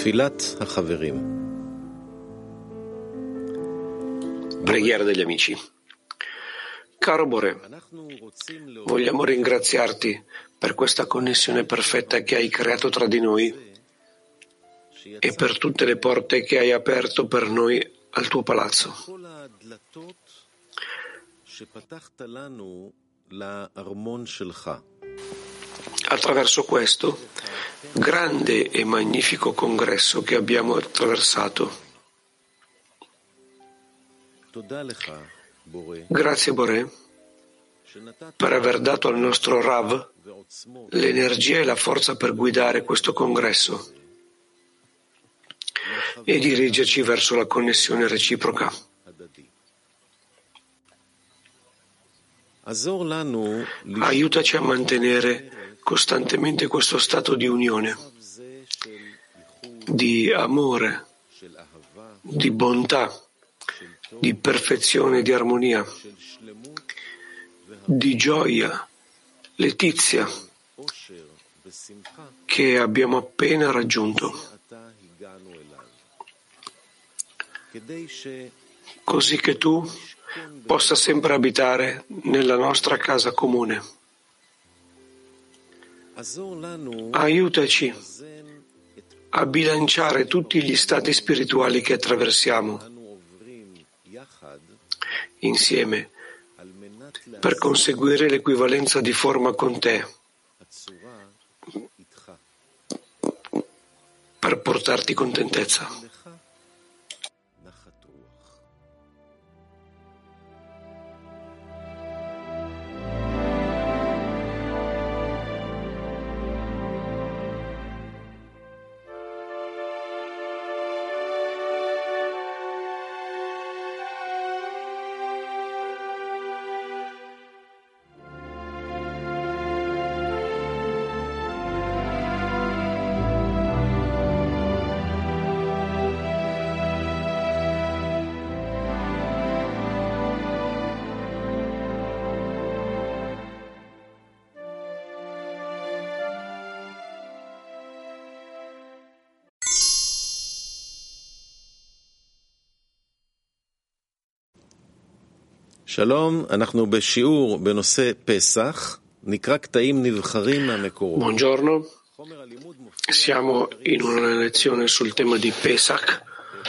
Preghiera degli amici. Caro Bore, vogliamo ringraziarti per questa connessione perfetta che hai creato tra di noi e per tutte le porte che hai aperto per noi al tuo palazzo. Attraverso questo grande e magnifico congresso che abbiamo attraversato. Grazie Bore per aver dato al nostro Rav l'energia e la forza per guidare questo congresso e dirigerci verso la connessione reciproca. Aiutaci a mantenere costantemente questo stato di unione, di amore, di bontà, di perfezione e di armonia, di gioia, letizia che abbiamo appena raggiunto, così che tu possa sempre abitare nella nostra casa comune. Aiutaci a bilanciare tutti gli stati spirituali che attraversiamo insieme per conseguire l'equivalenza di forma con te, per portarti contentezza. שלום, אנחנו בשיעור בנושא פסח, נקרא קטעים נבחרים מהמקורות. Buongiorno, siamo in una lezione sul tema di Pesach.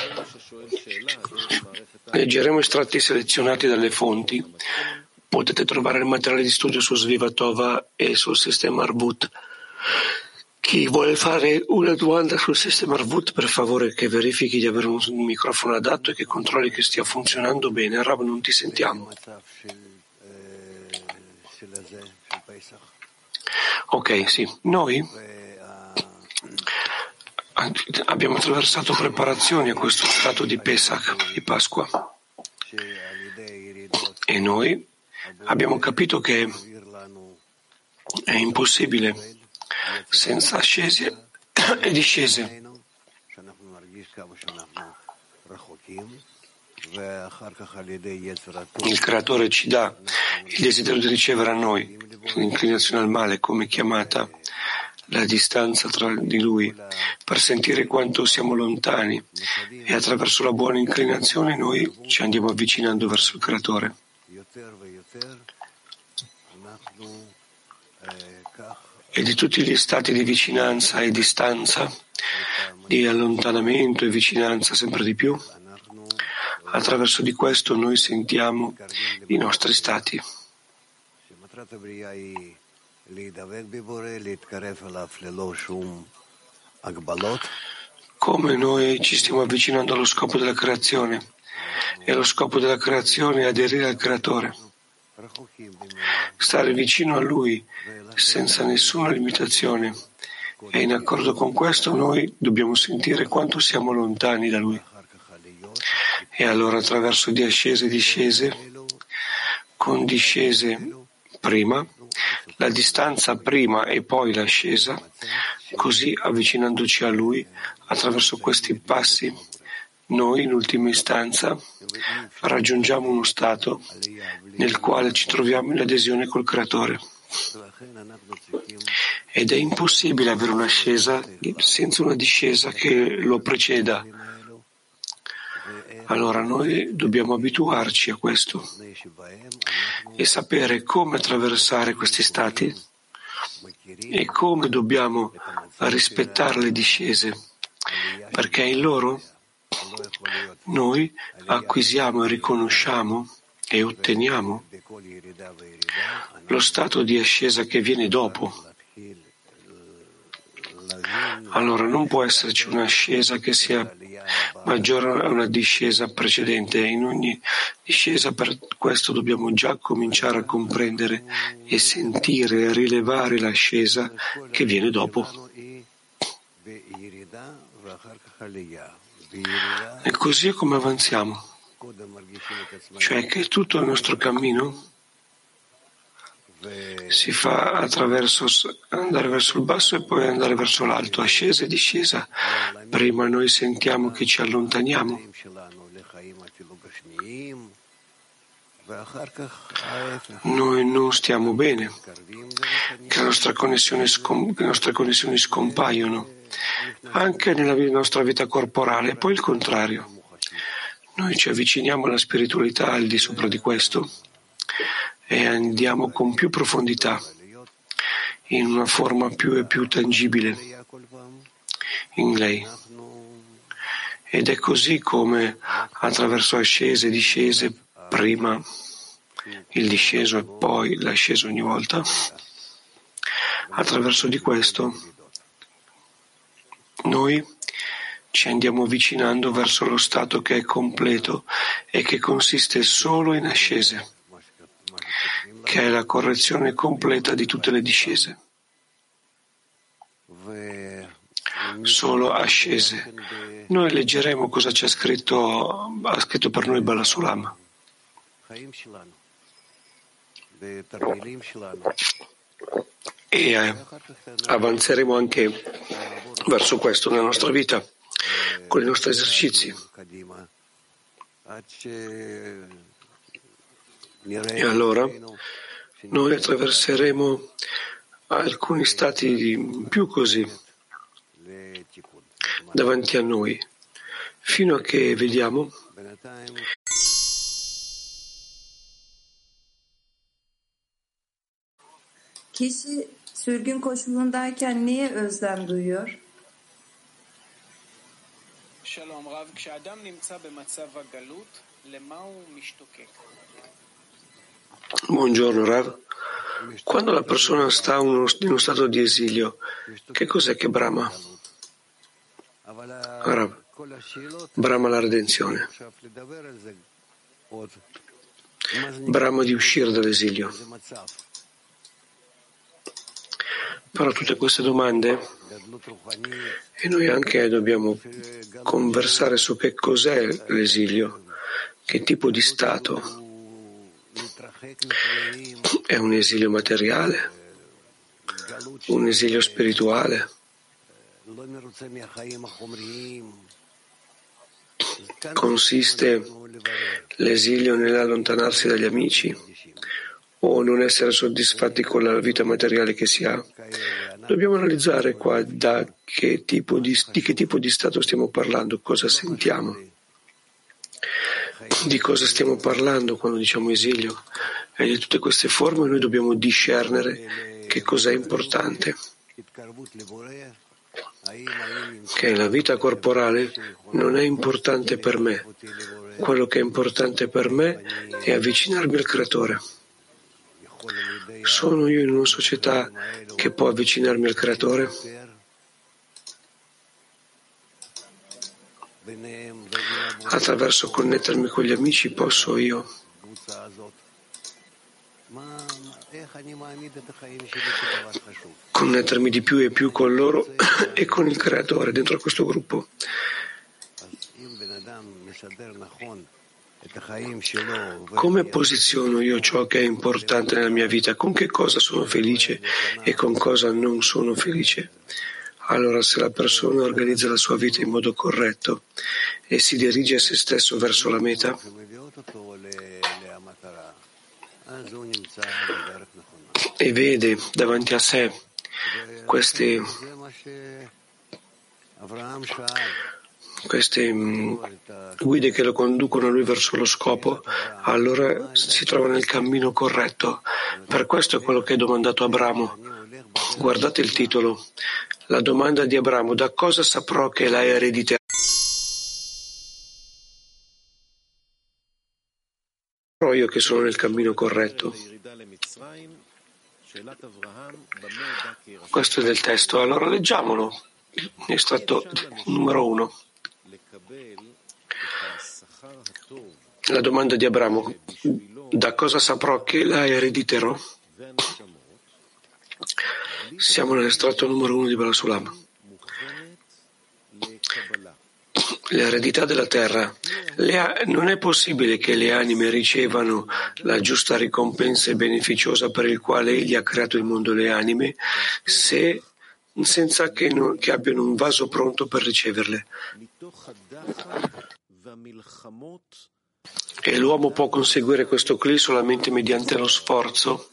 Leggeremo estratti selezionati dalle fonti. Potete trovare il materiale di studio su Svivatova e sul sistema Arvut. Chi vuole fare una domanda sul sistema Arvut, per favore che verifichi di avere un microfono adatto e che controlli che stia funzionando bene. Rav, non ti sentiamo. Ok, sì. Noi abbiamo attraversato preparazioni a questo stato di Pesach, di Pasqua. E noi abbiamo capito che è impossibile senza ascesi e discese. Il Creatore ci dà il desiderio di ricevere a noi l'inclinazione al male come chiamata, la distanza tra di Lui, per sentire quanto siamo lontani, e attraverso la buona inclinazione noi ci andiamo avvicinando verso il Creatore. E di tutti gli stati di vicinanza e distanza, di allontanamento e vicinanza sempre di più, attraverso di questo noi sentiamo i nostri stati. Come noi ci stiamo avvicinando allo scopo della creazione, e lo scopo della creazione è aderire al Creatore, stare vicino a Lui senza nessuna limitazione, e in accordo con questo noi dobbiamo sentire quanto siamo lontani da Lui. E allora attraverso di ascese e discese, con discese prima, la distanza prima e poi l'ascesa, così avvicinandoci a Lui attraverso questi passi, noi in ultima istanza raggiungiamo uno stato nel quale ci troviamo in adesione col Creatore. Ed è impossibile avere un'ascesa senza una discesa che lo preceda. Allora noi dobbiamo abituarci a questo e sapere come attraversare questi stati e come dobbiamo rispettare le discese, perché in loro noi acquisiamo e riconosciamo e otteniamo lo stato di ascesa che viene dopo. Allora non può esserci un'ascesa che sia maggiore a una discesa precedente. In ogni discesa, per questo dobbiamo già cominciare a comprendere e sentire e rilevare l'ascesa che viene dopo. E così è come avanziamo, cioè che tutto il nostro cammino si fa attraverso andare verso il basso e poi andare verso l'alto, ascesa e discesa. Prima noi sentiamo che ci allontaniamo, noi non stiamo bene, che le nostre connessioni scompaiono, anche nella nostra vita corporale, e poi il contrario. Noi ci avviciniamo alla spiritualità al di sopra di questo e andiamo con più profondità, in una forma più e più tangibile in lei. Ed è così come attraverso ascese e discese, prima il disceso e poi l'asceso ogni volta, attraverso di questo noi ci andiamo avvicinando verso lo stato che è completo e che consiste solo in ascese, che è la correzione completa di tutte le discese. Solo ascese. Noi leggeremo cosa c'è scritto, ha scritto per noi Bala Sulam. E avanzeremo anche verso questo nella nostra vita, con i nostri esercizi. E allora noi attraverseremo alcuni stati più così davanti a noi, fino a che vediamo Kişi sürgün koşulundayken niye özlem duyuyor? Shalom Rav, כשאדם נמצא במצב הגלות, למה הוא משתוקק? Buongiorno Rav. Quando la persona sta in uno stato di esilio, che cos'è che brama? Rav, brama la redenzione. Brama di uscire dall'esilio. Però tutte queste domande, e noi anche dobbiamo conversare su che cos'è l'esilio, che tipo di stato. È un esilio materiale, un esilio spirituale, consiste l'esilio nell'allontanarsi dagli amici o non essere soddisfatti con la vita materiale che si ha. Dobbiamo analizzare qua di che tipo di stato stiamo parlando, cosa sentiamo, di cosa stiamo parlando quando diciamo esilio, e di tutte queste forme noi dobbiamo discernere che cos'è importante. Che la vita corporale non è importante per me, quello che è importante per me è avvicinarmi al Creatore. Sono io in una società che può avvicinarmi al Creatore? Attraverso connettermi con gli amici posso io connettermi di più e più con loro e con il Creatore dentro a questo gruppo. Come posiziono io ciò che è importante nella mia vita? Con che cosa sono felice e con cosa non sono felice? Allora, se la persona organizza la sua vita in modo corretto e si dirige a se stesso verso la meta, e vede davanti a sé queste guide che lo conducono a lui verso lo scopo, allora si trova nel cammino corretto. Per questo è quello che è domandato Abramo. Guardate il titolo. La domanda di Abramo: da cosa saprò che la erediterò io che sono nel cammino corretto? Questo è del testo. Allora leggiamolo. Estratto numero 1. La domanda di Abramo: da cosa saprò che la erediterò? Siamo nell'estratto numero 1 di Baal Sulam. L'eredità della terra. Non è possibile che le anime ricevano la giusta ricompensa beneficiosa per il quale Egli ha creato il mondo e le anime senza che abbiano un vaso pronto per riceverle. E l'uomo può conseguire questo cli solamente mediante lo sforzo,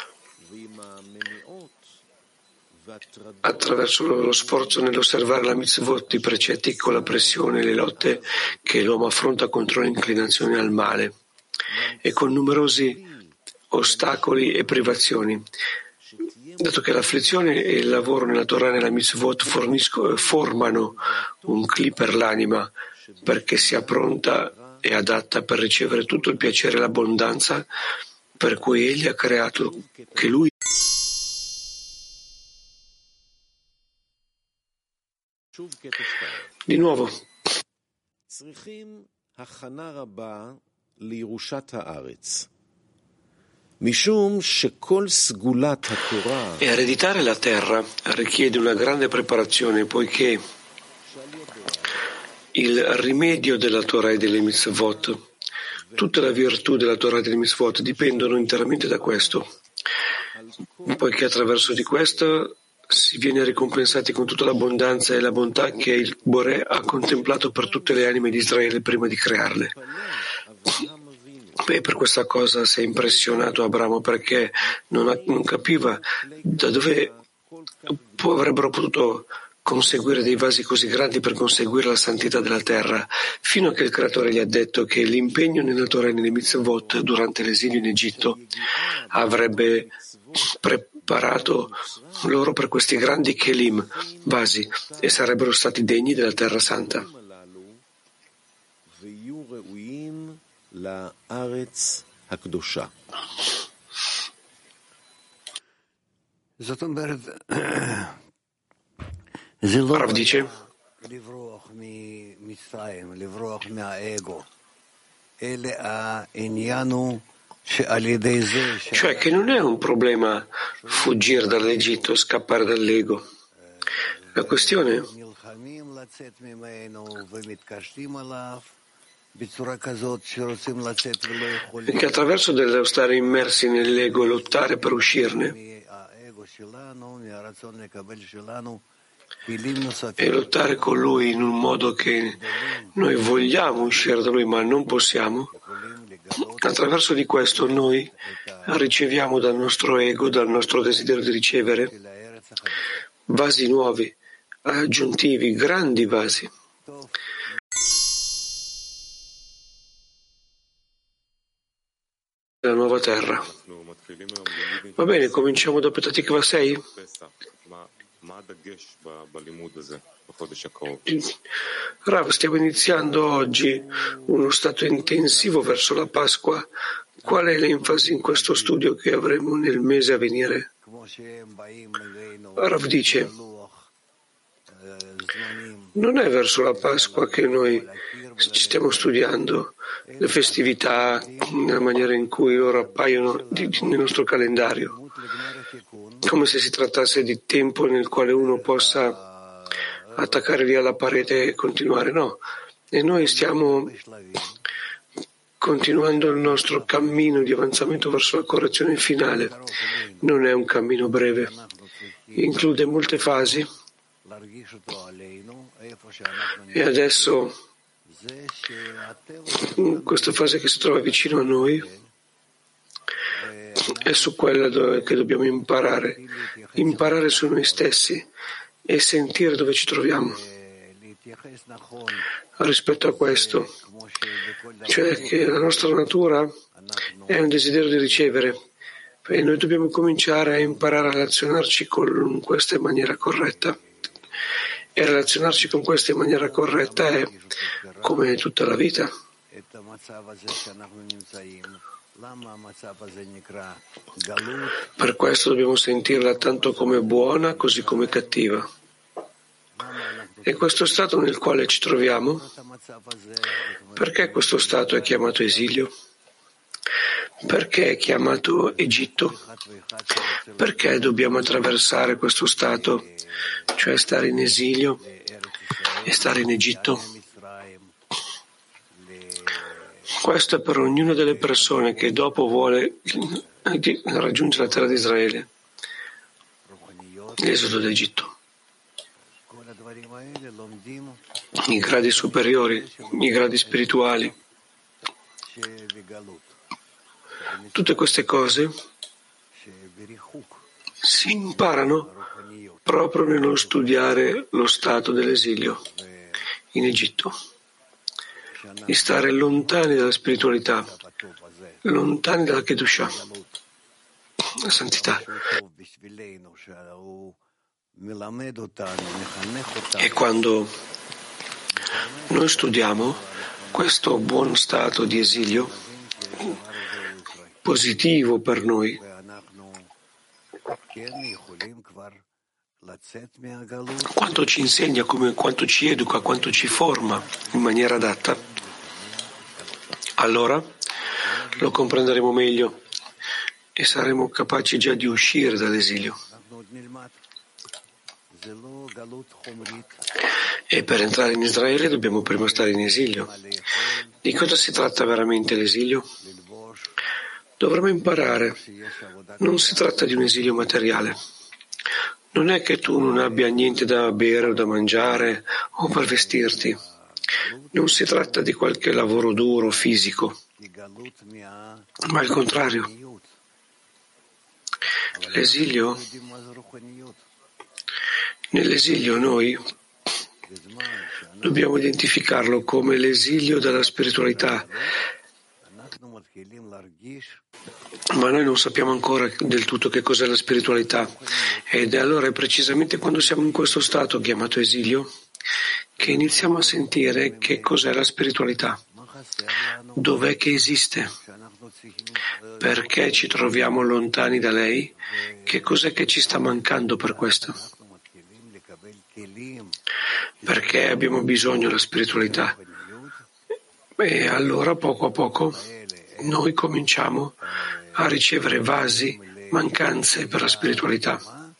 attraverso lo sforzo nell'osservare la mitzvot, i precetti, con la pressione e le lotte che l'uomo affronta contro l'inclinazione al male e con numerosi ostacoli e privazioni. Dato che l'afflizione e il lavoro nella Torah e nella mitzvot formano un cli per l'anima perché sia pronta e adatta per ricevere tutto il piacere e l'abbondanza per cui Egli ha creato, che Lui di nuovo. E ereditare la terra richiede una grande preparazione, poiché il rimedio della Torah e delle mitzvot, tutta la virtù della Torah e delle mitzvot dipendono interamente da questo, poiché attraverso di questo si viene ricompensati con tutta l'abbondanza e la bontà che il Boré ha contemplato per tutte le anime di Israele prima di crearle. E per questa cosa si è impressionato Abramo, perché non capiva da dove avrebbero potuto conseguire dei vasi così grandi per conseguire la santità della terra, fino a che il Creatore gli ha detto che l'impegno nella Torah e nelle mitzvot durante l'esilio in Egitto avrebbe preparato loro per questi grandi kelim, vasi, e sarebbero stati degni della terra santa. Rav dice: cioè che non è un problema fuggire dall'Egitto, scappare dall'ego. La questione è che attraverso dello stare immersi nell'ego e lottare per uscirne, e lottare con lui in un modo che noi vogliamo uscire da lui ma non possiamo, attraverso di questo noi riceviamo dal nostro ego, dal nostro desiderio di ricevere, vasi nuovi, aggiuntivi, grandi vasi. La nuova terra. Va bene, cominciamo da Petatikva 6. Rav, stiamo iniziando oggi uno stato intensivo verso la Pasqua. Qual è l'enfasi in questo studio che avremo nel mese a venire? Rav dice: non è verso la Pasqua che noi ci stiamo studiando le festività nella maniera in cui ora appaiono nel nostro calendario, come se si trattasse di tempo nel quale uno possa attaccare lì alla parete e continuare. No, e noi stiamo continuando il nostro cammino di avanzamento verso la correzione finale. Non è un cammino breve, include molte fasi, e adesso in questa fase che si trova vicino a noi è su quella che dobbiamo imparare su noi stessi e sentire dove ci troviamo. Rispetto a questo, cioè che la nostra natura è un desiderio di ricevere e noi dobbiamo cominciare a imparare a relazionarci con questa in maniera corretta. E relazionarci con questa in maniera corretta è come tutta la vita. Per questo dobbiamo sentirla tanto come buona così come cattiva. E questo stato nel quale ci troviamo, perché questo stato è chiamato esilio? Perché è chiamato Egitto? Perché dobbiamo attraversare questo stato, cioè stare in esilio e stare in Egitto? Questo è per ognuna delle persone che dopo vuole raggiungere la terra di Israele, l'esodo d'Egitto. I gradi superiori, i gradi spirituali. Tutte queste cose si imparano proprio nello studiare lo stato dell'esilio in Egitto, di stare lontani dalla spiritualità, lontani dalla Kedushah, la santità. E quando noi studiamo questo buon stato di esilio, positivo per noi, quanto ci insegna, quanto ci educa, quanto ci forma in maniera adatta, allora lo comprenderemo meglio e saremo capaci già di uscire dall'esilio. E per entrare in Israele dobbiamo prima stare in esilio. Di cosa si tratta veramente l'esilio? Dovremo imparare. Non si tratta di un esilio materiale. Non è che tu non abbia niente da bere o da mangiare o per vestirti. Non si tratta di qualche lavoro duro, fisico, ma al contrario. L'esilio, nell'esilio noi dobbiamo identificarlo come l'esilio dalla spiritualità, ma noi non sappiamo ancora del tutto che cos'è la spiritualità, ed allora è precisamente quando siamo in questo stato chiamato esilio che iniziamo a sentire che cos'è la spiritualità, dov'è che esiste, perché ci troviamo lontani da lei, che cos'è che ci sta mancando per questo, perché abbiamo bisogno della spiritualità. E allora poco a poco noi cominciamo a ricevere vasi, mancanze per la spiritualità.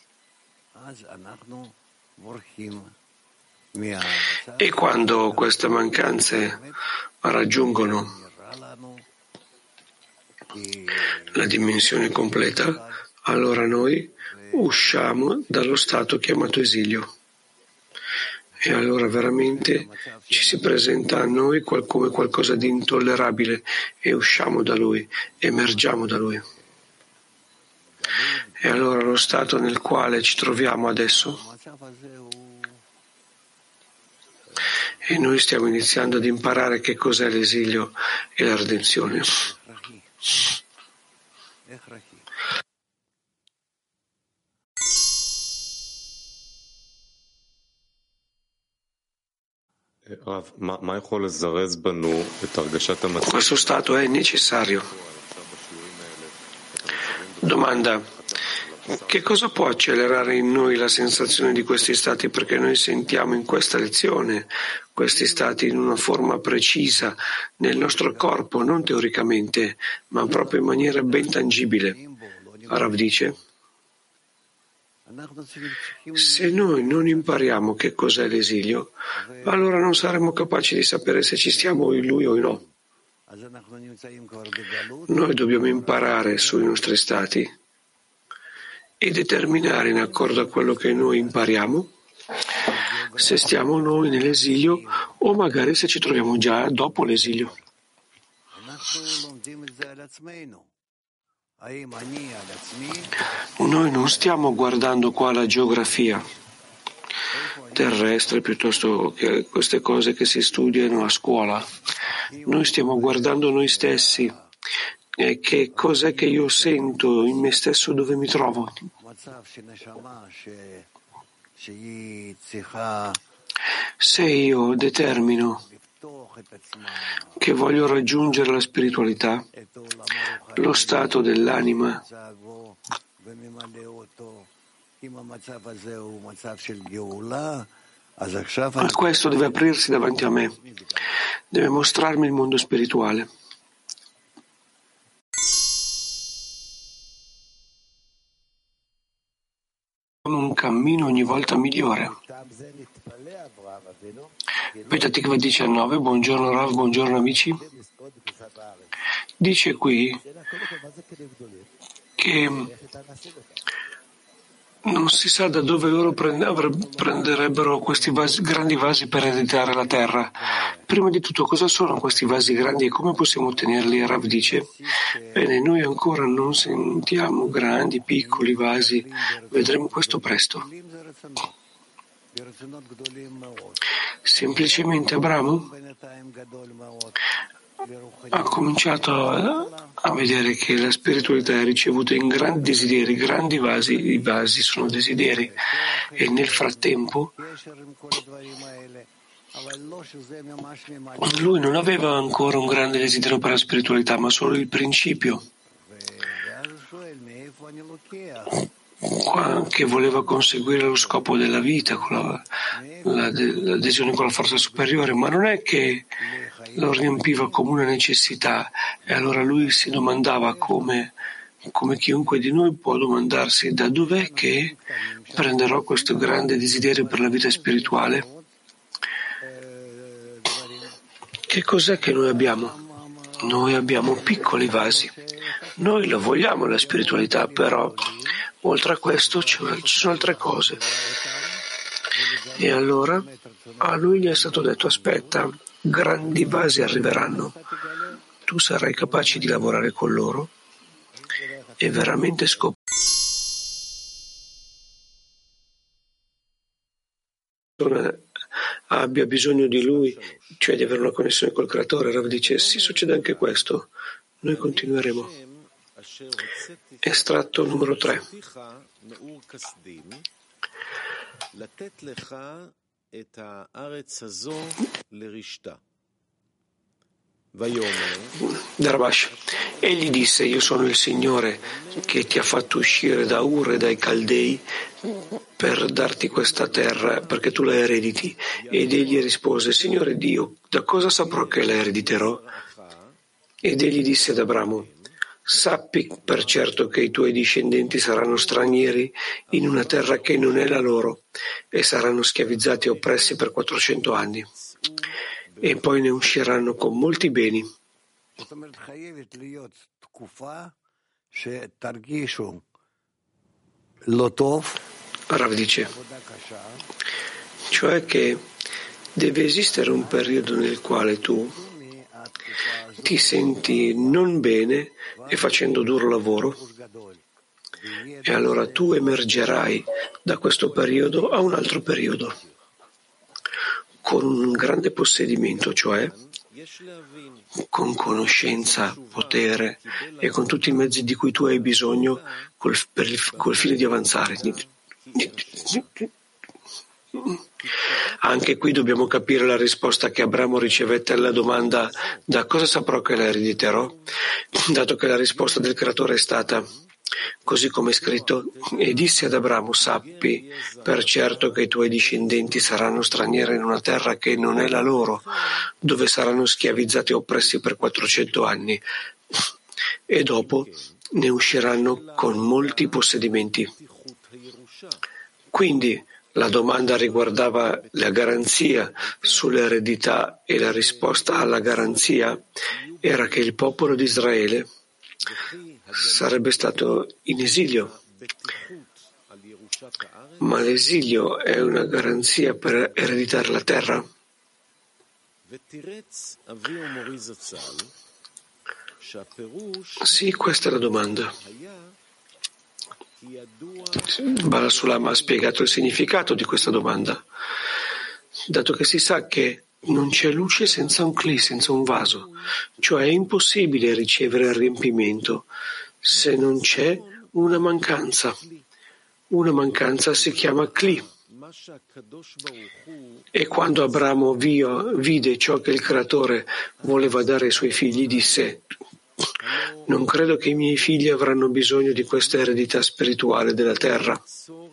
E quando queste mancanze raggiungono la dimensione completa, allora noi usciamo dallo stato chiamato esilio. E allora veramente ci si presenta a noi come qualcosa di intollerabile e usciamo da lui, emergiamo da lui. E allora lo stato nel quale ci troviamo adesso, e noi stiamo iniziando ad imparare che cos'è l'esilio e la redenzione. Questo stato è necessario. Domanda: che cosa può accelerare in noi la sensazione di questi stati? Perché noi sentiamo in questa lezione questi stati in una forma precisa nel nostro corpo, non teoricamente, ma proprio in maniera ben tangibile. Rav dice: se noi non impariamo che cos'è l'esilio, allora non saremo capaci di sapere se ci stiamo in lui o no. Noi dobbiamo imparare sui nostri stati e determinare in accordo a quello che noi impariamo se stiamo noi nell'esilio o magari se ci troviamo già dopo l'esilio. Noi non stiamo guardando qua la geografia terrestre piuttosto che queste cose che si studiano a scuola. Noi stiamo guardando noi stessi e che cos'è che io sento in me stesso, dove mi trovo. Se io determino che voglio raggiungere la spiritualità, lo stato dell'anima, questo deve aprirsi davanti a me, deve mostrarmi il mondo spirituale. Un cammino ogni volta migliore. Petah Tikva 19, buongiorno Rav, buongiorno amici. Dice qui che non si sa da dove loro prenderebbero questi grandi vasi per ereditare la terra. Prima di tutto, cosa sono questi vasi grandi e come possiamo ottenerli? Rav dice, bene, noi ancora non sentiamo grandi, piccoli vasi, vedremo questo presto. Semplicemente Abramo ha cominciato a vedere che la spiritualità è ricevuta in grandi desideri, grandi vasi, i vasi sono desideri, e nel frattempo lui non aveva ancora un grande desiderio per la spiritualità, ma solo il principio, che voleva conseguire lo scopo della vita, con l'adesione con la forza superiore, ma non è che lo riempiva come una necessità, e allora lui si domandava come chiunque di noi può domandarsi da dov'è che prenderò questo grande desiderio per la vita spirituale. Che cos'è che noi abbiamo? Noi abbiamo piccoli vasi, noi lo vogliamo la spiritualità, però oltre a questo ci sono altre cose. E allora a lui gli è stato detto: aspetta, grandi vasi arriveranno, tu sarai capace di lavorare con loro e veramente scoprire abbia bisogno di lui, cioè di avere una connessione col creatore. Rav dice: sì, succede anche questo. Noi continueremo. Estratto numero 3. Darabash. Egli disse: io sono il Signore che ti ha fatto uscire da Ur e dai Caldei per darti questa terra perché tu la erediti. Ed egli rispose: Signore Dio, da cosa saprò che la erediterò? Ed egli disse ad Abramo: sappi per certo che i tuoi discendenti saranno stranieri in una terra che non è la loro e saranno schiavizzati e oppressi per 400 anni. E poi ne usciranno con molti beni. Rav dice, cioè che deve esistere un periodo nel quale tu ti senti non bene e facendo duro lavoro, e allora tu emergerai da questo periodo a un altro periodo con un grande possedimento, cioè con conoscenza, potere e con tutti i mezzi di cui tu hai bisogno col fine di avanzare. Anche qui dobbiamo capire la risposta che Abramo ricevette alla domanda: da cosa saprò che la erediterò? Dato che la risposta del creatore è stata, così come è scritto, e disse ad Abramo: sappi per certo che i tuoi discendenti saranno stranieri in una terra che non è la loro, dove saranno schiavizzati e oppressi per 400 anni, e dopo ne usciranno con molti possedimenti. Quindi la domanda riguardava la garanzia sull'eredità e la risposta alla garanzia era che il popolo di Israele sarebbe stato in esilio. Ma l'esilio è una garanzia per ereditare la terra? Sì, questa è la domanda. Bala Sulam ha spiegato il significato di questa domanda, dato che si sa che non c'è luce senza un cli, senza un vaso, cioè è impossibile ricevere il riempimento se non c'è una mancanza. Una mancanza si chiama cli. E quando Abramo vide ciò che il Creatore voleva dare ai suoi figli, disse: non credo che i miei figli avranno bisogno di questa eredità spirituale della terra.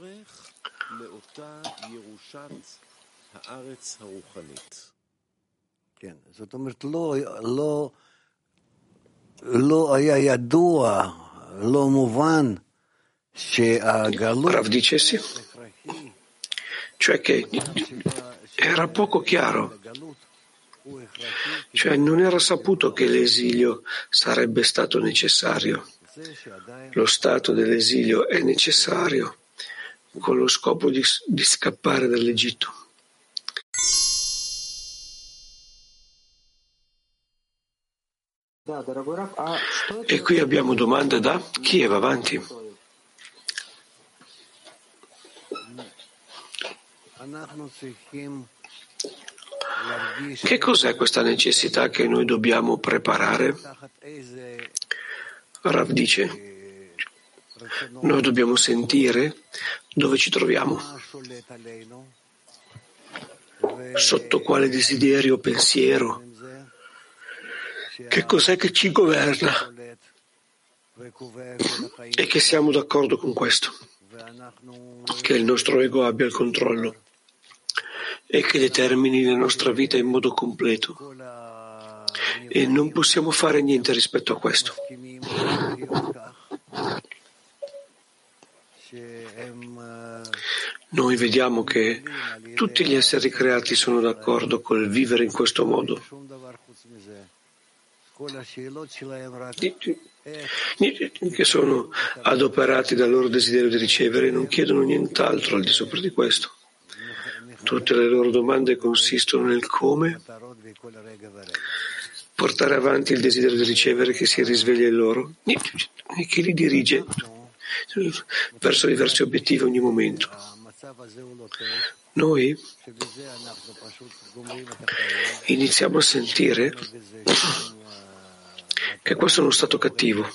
Rav dice sì, cioè che era poco chiaro, cioè non era saputo che l'esilio sarebbe stato necessario. Lo stato dell'esilio è necessario con lo scopo di scappare dall'Egitto. E qui abbiamo domande da chi va avanti. Che cos'è questa necessità che noi dobbiamo preparare? Rav dice, noi dobbiamo sentire dove ci troviamo, sotto quale desiderio o pensiero, che cos'è che ci governa e che siamo d'accordo con questo, che il nostro ego abbia il controllo e che determini la nostra vita in modo completo, e non possiamo fare niente rispetto a questo. Noi vediamo che tutti gli esseri creati sono d'accordo col vivere in questo modo. Che sono adoperati dal loro desiderio di ricevere e non chiedono nient'altro al di sopra di questo. Tutte le loro domande consistono nel come portare avanti il desiderio di ricevere che si risveglia in loro e che li dirige verso diversi obiettivi ogni momento. Noi iniziamo a sentire che questo è uno stato cattivo,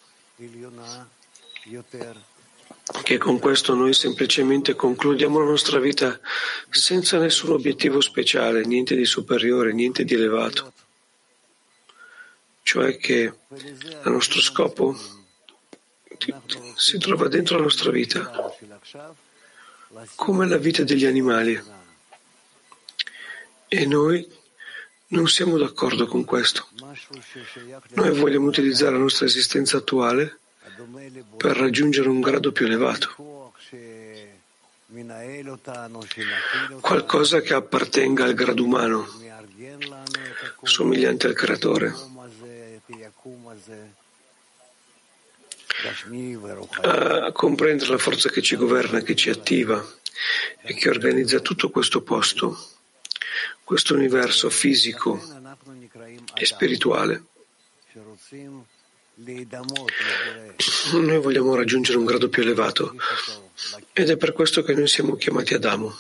che con questo noi semplicemente concludiamo la nostra vita senza nessun obiettivo speciale, niente di superiore, niente di elevato. Cioè che il nostro scopo si trova dentro la nostra vita, come la vita degli animali. E noi non siamo d'accordo con questo. Noi vogliamo utilizzare la nostra esistenza attuale per raggiungere un grado più elevato, qualcosa che appartenga al grado umano, somigliante al Creatore, a comprendere la forza che ci governa, che ci attiva e che organizza tutto questo posto, questo universo fisico e spirituale. Noi vogliamo raggiungere un grado più elevato ed è per questo che noi siamo chiamati Adamo.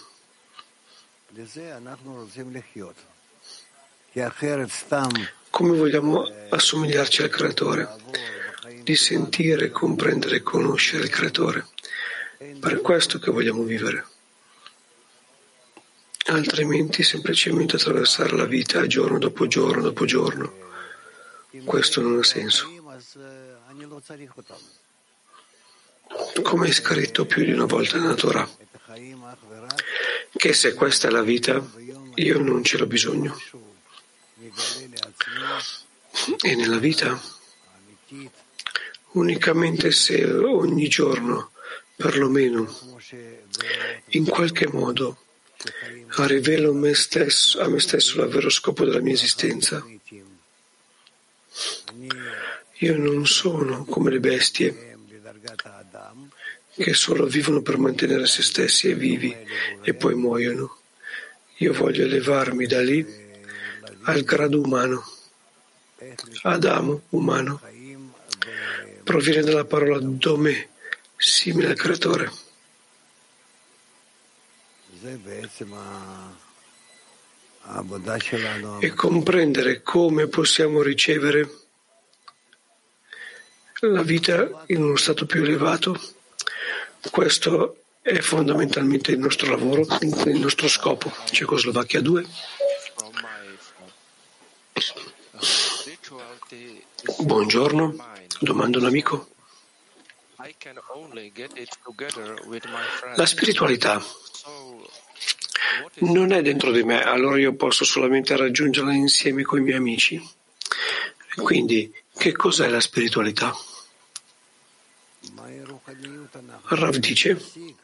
Come vogliamo assomigliarci al Creatore? Di sentire, comprendere e conoscere il Creatore. Per questo che vogliamo vivere. Altrimenti semplicemente attraversare la vita giorno dopo giorno dopo giorno. Questo non ha senso. Come è scritto più di una volta nella Torah, che se questa è la vita, io non ce l'ho bisogno. E nella vita, unicamente se ogni giorno, perlomeno, in qualche modo, rivelo a me stesso il vero scopo della mia esistenza, io non sono come le bestie che solo vivono per mantenere se stessi e vivi e poi muoiono. Io voglio elevarmi da lì al grado umano, Adamo, umano, proviene dalla parola domè, simile al creatore. E comprendere come possiamo ricevere la vita in uno stato più elevato, questo è fondamentalmente il nostro lavoro, il nostro scopo. Cecoslovacchia 2. Buongiorno, domanda un amico. La spiritualità non è dentro di me, allora io posso solamente raggiungerla insieme con i miei amici. Quindi, che cos'è la spiritualità? Rav dice: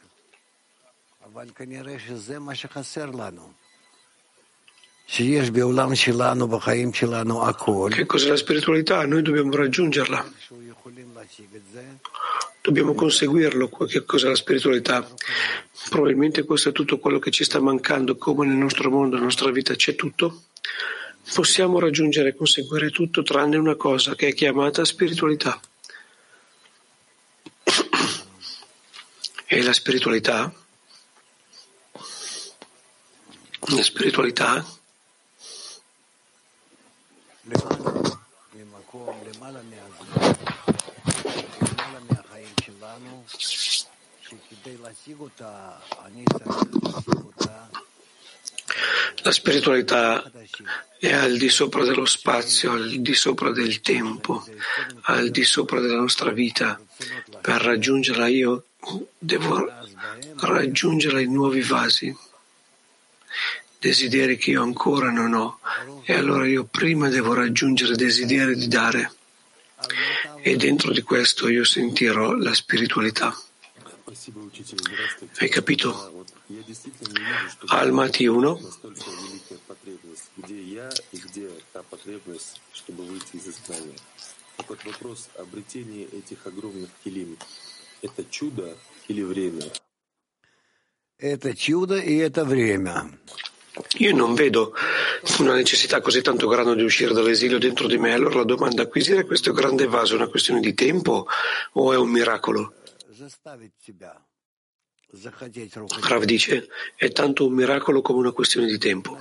che cos'è la spiritualità? Noi dobbiamo raggiungerla. Dobbiamo conseguirlo. Che cos'è la spiritualità? Probabilmente questo è tutto quello che ci sta mancando, come nel nostro mondo, nella nostra vita c'è tutto. Possiamo raggiungere e conseguire tutto tranne una cosa che è chiamata spiritualità. E la spiritualità è al di sopra dello spazio, al di sopra del tempo, al di sopra della nostra vita. Per raggiungerla io devo raggiungerla in nuovi vasi, desideri che io ancora non ho, e allora io prima devo raggiungere desideri di dare, e dentro di questo io sentirò la spiritualità. Hai capito? Almaty 1. Io non vedo una necessità così tanto grande di uscire dall'esilio dentro di me. Allora la domanda: acquisire questo grande vaso è una questione di tempo o è un miracolo? Rav dice: è tanto un miracolo come una questione di tempo.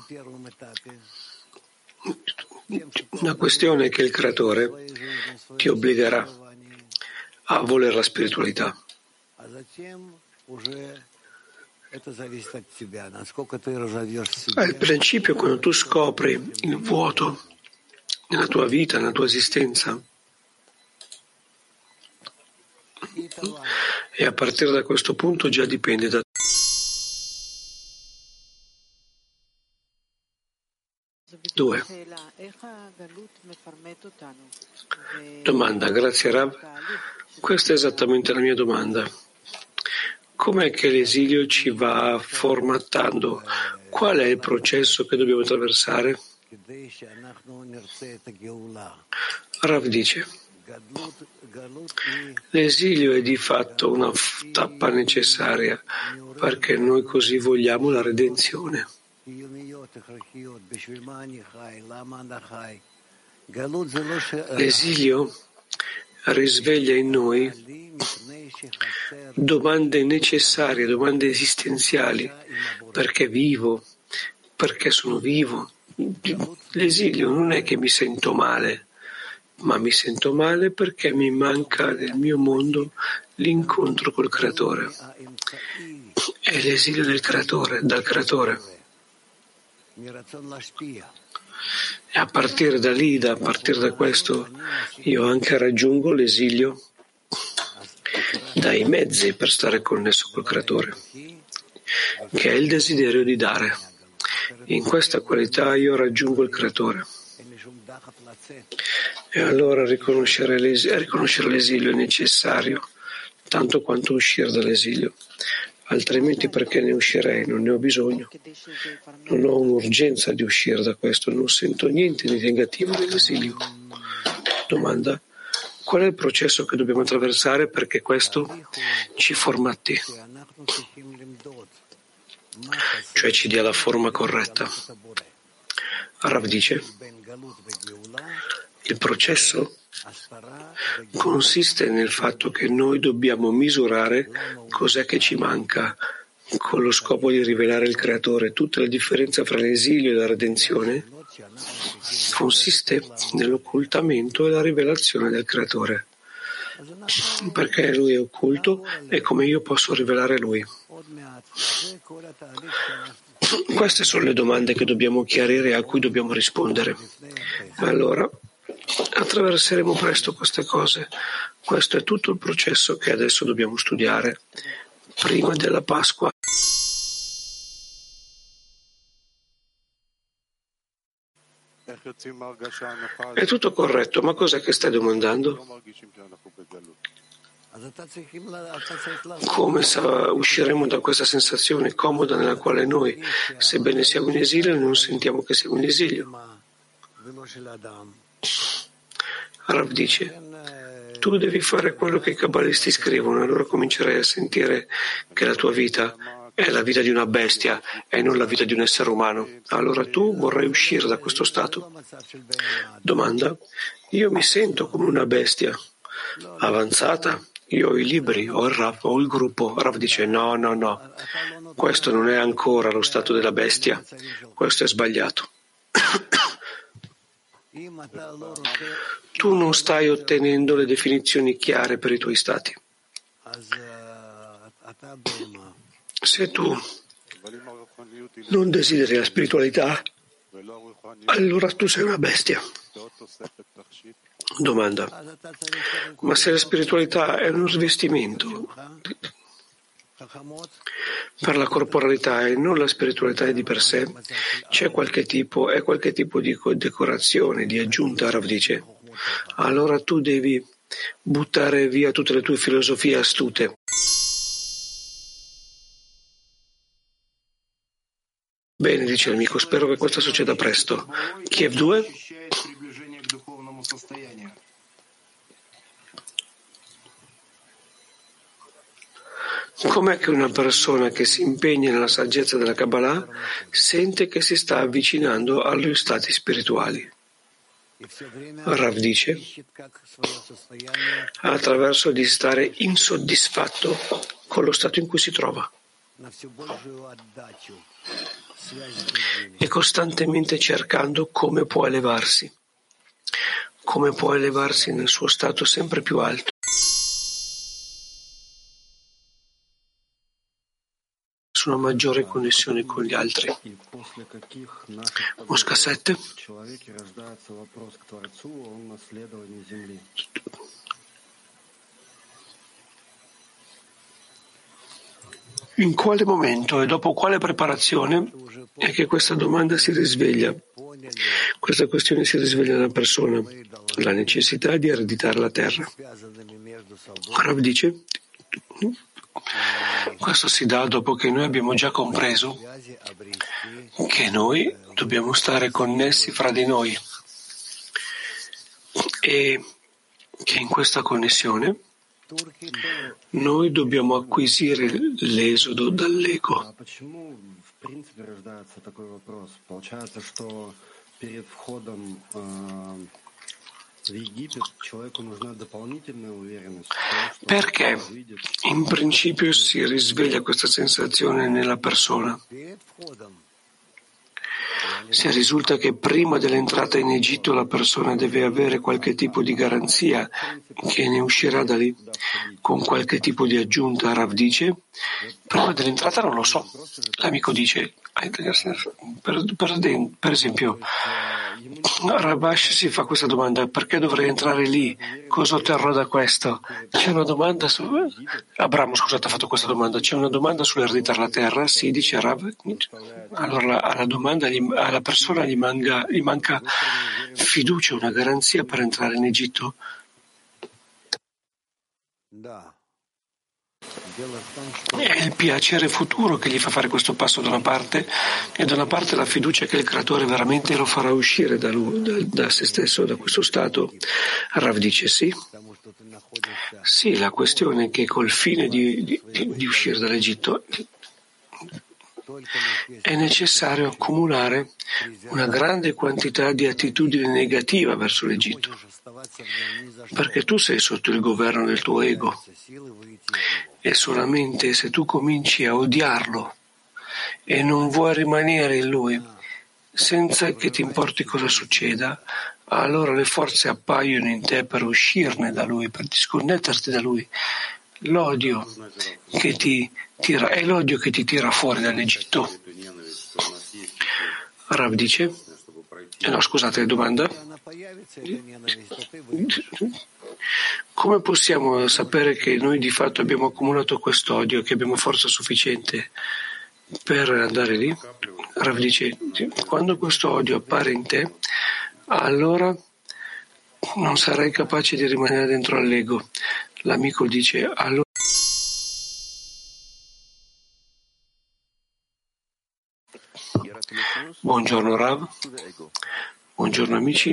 Una questione è che il creatore ti obbligherà a volere la spiritualità. Al principio, quando tu scopri il vuoto nella tua vita, nella tua esistenza, e a partire da questo punto già dipende da te. Due. Domanda, grazie Rav. Questa è esattamente la mia domanda. Com'è che l'esilio ci va formattando? Qual è il processo che dobbiamo attraversare? Rav dice: l'esilio è di fatto una tappa necessaria perché noi così vogliamo la redenzione. L'esilio risveglia in noi domande necessarie, domande esistenziali. Perché vivo? Perché sono vivo? L'esilio non è che mi sento male, ma mi sento male perché mi manca nel mio mondo l'incontro col Creatore. È l'esilio del Creatore, dal Creatore. E a partire da lì, a partire da questo, io anche raggiungo l'esilio dai mezzi per stare connesso col Creatore, che è il desiderio di dare. In questa qualità io raggiungo il Creatore. E allora riconoscere l'esilio è necessario, tanto quanto uscire dall'esilio. Altrimenti perché ne uscirei? Non ne ho bisogno. Non ho un'urgenza di uscire da questo, non sento niente di negativo dell'esilio. Domanda: qual è il processo che dobbiamo attraversare perché questo ci formati? Cioè ci dia la forma corretta. Rav dice: Il processo consiste nel fatto che noi dobbiamo misurare cos'è che ci manca con lo scopo di rivelare il Creatore. Tutta la differenza fra l'esilio e la redenzione consiste nell'occultamento e la rivelazione del Creatore. Perché Lui è occulto e come io posso rivelare Lui? Queste sono le domande che dobbiamo chiarire e a cui dobbiamo rispondere. Allora, attraverseremo presto queste cose. Questo è tutto il processo che adesso dobbiamo studiare prima della Pasqua. È tutto corretto, ma cos'è che stai domandando? Come usciremo da questa sensazione comoda nella quale noi, sebbene siamo in esilio, non sentiamo che siamo in esilio? Rav dice, tu devi fare quello che i cabalisti scrivono, e allora comincerai a sentire che la tua vita è la vita di una bestia e non la vita di un essere umano. Allora tu vorrai uscire da questo stato. Domanda, io mi sento come una bestia avanzata? Io ho i libri, ho il Rav, ho il gruppo. Rav dice no, questo non è ancora lo stato della bestia, questo è sbagliato. Tu non stai ottenendo le definizioni chiare per i tuoi stati. Se tu non desideri la spiritualità, allora tu sei una bestia. Domanda, ma se la spiritualità è un rivestimento per la corporalità e non la spiritualità è di per sé, è qualche tipo di decorazione, di aggiunta, Rav dice, allora tu devi buttare via tutte le tue filosofie astute. Bene, dice l'amico, spero che questo succeda presto. Kiev 2? Com'è che una persona che si impegna nella saggezza della Kabbalah sente che si sta avvicinando agli stati spirituali? Rav dice, attraverso di stare insoddisfatto con lo stato in cui si trova e costantemente cercando come può elevarsi nel suo stato sempre più alto. Su una maggiore connessione con gli altri. Mosca 7. In quale momento e dopo quale preparazione è che questa domanda si risveglia? Questa questione si risveglia nella persona, la necessità di ereditare la terra. Rav dice, questo si dà dopo che noi abbiamo già compreso che noi dobbiamo stare connessi fra di noi e che in questa connessione noi dobbiamo acquisire l'esodo dall'ego. Perché in principio si risveglia questa sensazione nella persona? Se risulta che prima dell'entrata in Egitto la persona deve avere qualche tipo di garanzia che ne uscirà da lì con qualche tipo di aggiunta, Rav dice, prima dell'entrata non lo so. L'amico dice, per esempio, Rabash si fa questa domanda, perché dovrei entrare lì? Cosa otterrò da questo? C'è una domanda su... Abramo, scusate, ha fatto questa domanda. C'è una domanda sull'ereditare la terra? Sì, dice Rav. Allora alla domanda, alla persona gli manca fiducia, una garanzia per entrare in Egitto? È il piacere futuro che gli fa fare questo passo da una parte e da una parte la fiducia che il Creatore veramente lo farà uscire da se stesso, da questo stato. Rav dice sì. Sì, la questione è che col fine di uscire dall'Egitto è necessario accumulare una grande quantità di attitudine negativa verso l'Egitto, perché tu sei sotto il governo del tuo ego e solamente se tu cominci a odiarlo e non vuoi rimanere in lui senza che ti importi cosa succeda, allora le forze appaiono in te per uscirne da lui, per disconnetterti da lui. L'odio che ti tira è l'odio che ti tira fuori dall'Egitto. Rav dice, no, scusate, domanda. Come possiamo sapere che noi di fatto abbiamo accumulato quest'odio, che abbiamo forza sufficiente per andare lì? Rav dice, quando questo odio appare in te, allora non sarai capace di rimanere dentro all'ego. L'amico dice, allora buongiorno Rav, buongiorno amici.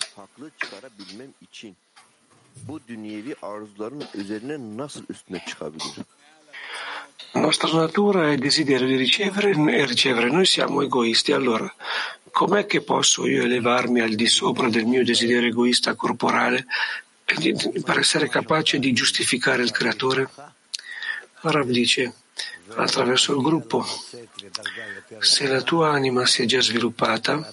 La nostra natura è il desiderio di ricevere e ricevere. Noi siamo egoisti, allora com'è che posso io elevarmi al di sopra del mio desiderio egoista corporale per essere capace di giustificare il creatore? Rav dice, attraverso il gruppo. Se la tua anima si è già sviluppata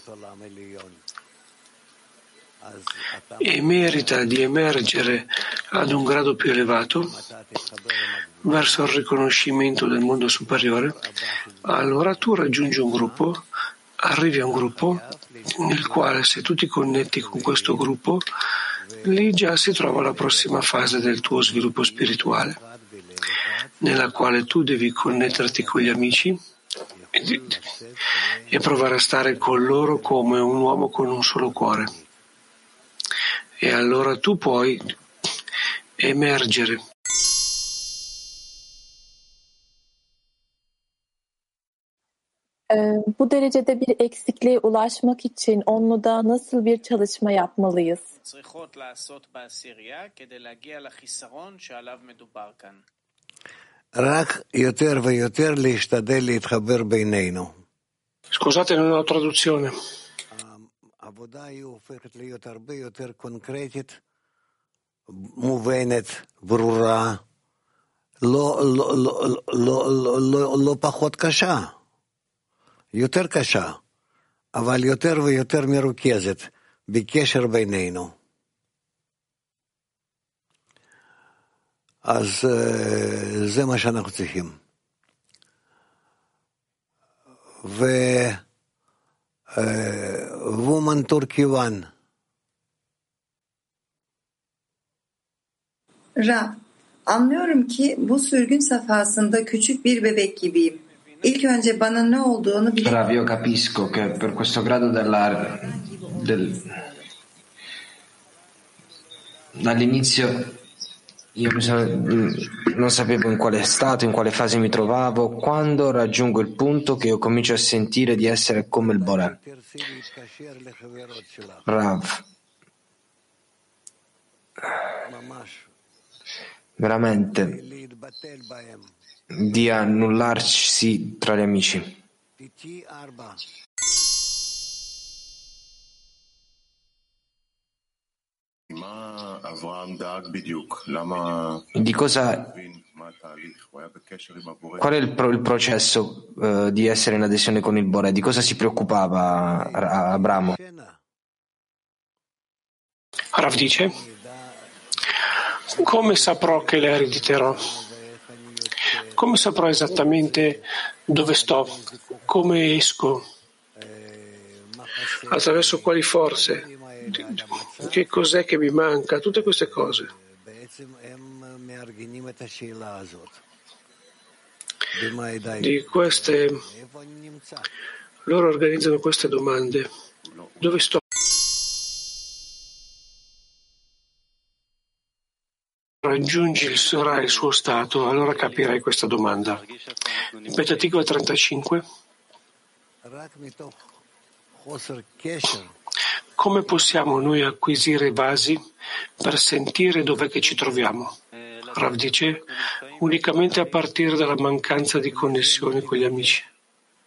e merita di emergere ad un grado più elevato verso il riconoscimento del mondo superiore, allora tu raggiungi un gruppo, arrivi a un gruppo nel quale se tu ti connetti con questo gruppo, lì già si trova la prossima fase del tuo sviluppo spirituale, nella quale tu devi connetterti con gli amici e provare a stare con loro come un uomo con un solo cuore. E allora tu puoi emergere. Bu derecede bir eksikliğe ulaşmak için onluda nasıl bir çalışma yapmalıyız? צריכות לעשות בעשירייה כדי להגיע לחיסרון שעליו מדובר כאן. רק יותר ויותר להשתדל להתחבר בינינו. Scusate, non ho traduzione. העבודה היא הופכת להיות הרבה יותר קונקרטית, מובנת, ברורה, לא פחות קשה, יותר קשה, אבל יותר ויותר מרוכזת בקשר בינינו. אז זה מה שאנחנו צריכים. Woman Turkivan. Ra, anlıyorum ki bu sürgün safhasında küçük bir bebek gibiyim. İlk önce bana ne olduğunu bile... Rav, io capisco che per questo grado dall'inizio io non sapevo in quale stato, in quale fase mi trovavo. Quando raggiungo il punto che io comincio a sentire di essere come il Boré. Rav, veramente di annullarsi tra gli amici. Di cosa, qual è il processo di essere in adesione con il Boré? Di cosa si preoccupava Abramo? Rav dice, come saprò che le erediterò? Come saprò esattamente dove sto? Come esco? Attraverso quali forze? Che cos'è che mi manca? Tutte queste cose. Di queste, loro organizzano queste domande. Dove sto? Raggiungi il suo stato, allora capirai questa domanda. Ripetativo 35. Come possiamo noi acquisire basi per sentire dov'è che ci troviamo? Rav dice, unicamente a partire dalla mancanza di connessione con gli amici.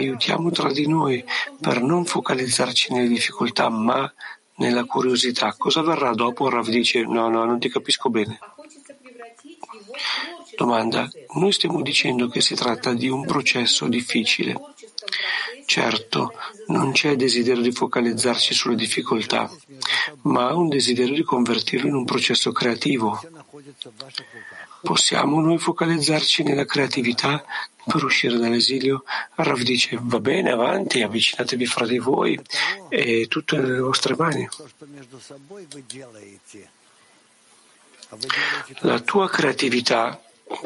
aiutiamo tra di noi per non focalizzarci nelle difficoltà, ma nella curiosità. Cosa verrà dopo? Rav dice, no, non ti capisco bene. Domanda, noi stiamo dicendo che si tratta di un processo difficile. Certo, non c'è desiderio di focalizzarci sulle difficoltà, ma un desiderio di convertirlo in un processo creativo. Possiamo noi focalizzarci nella creatività per uscire dall'esilio? Rav dice, va bene, avanti, avvicinatevi fra di voi, è tutto nelle vostre mani. La tua creatività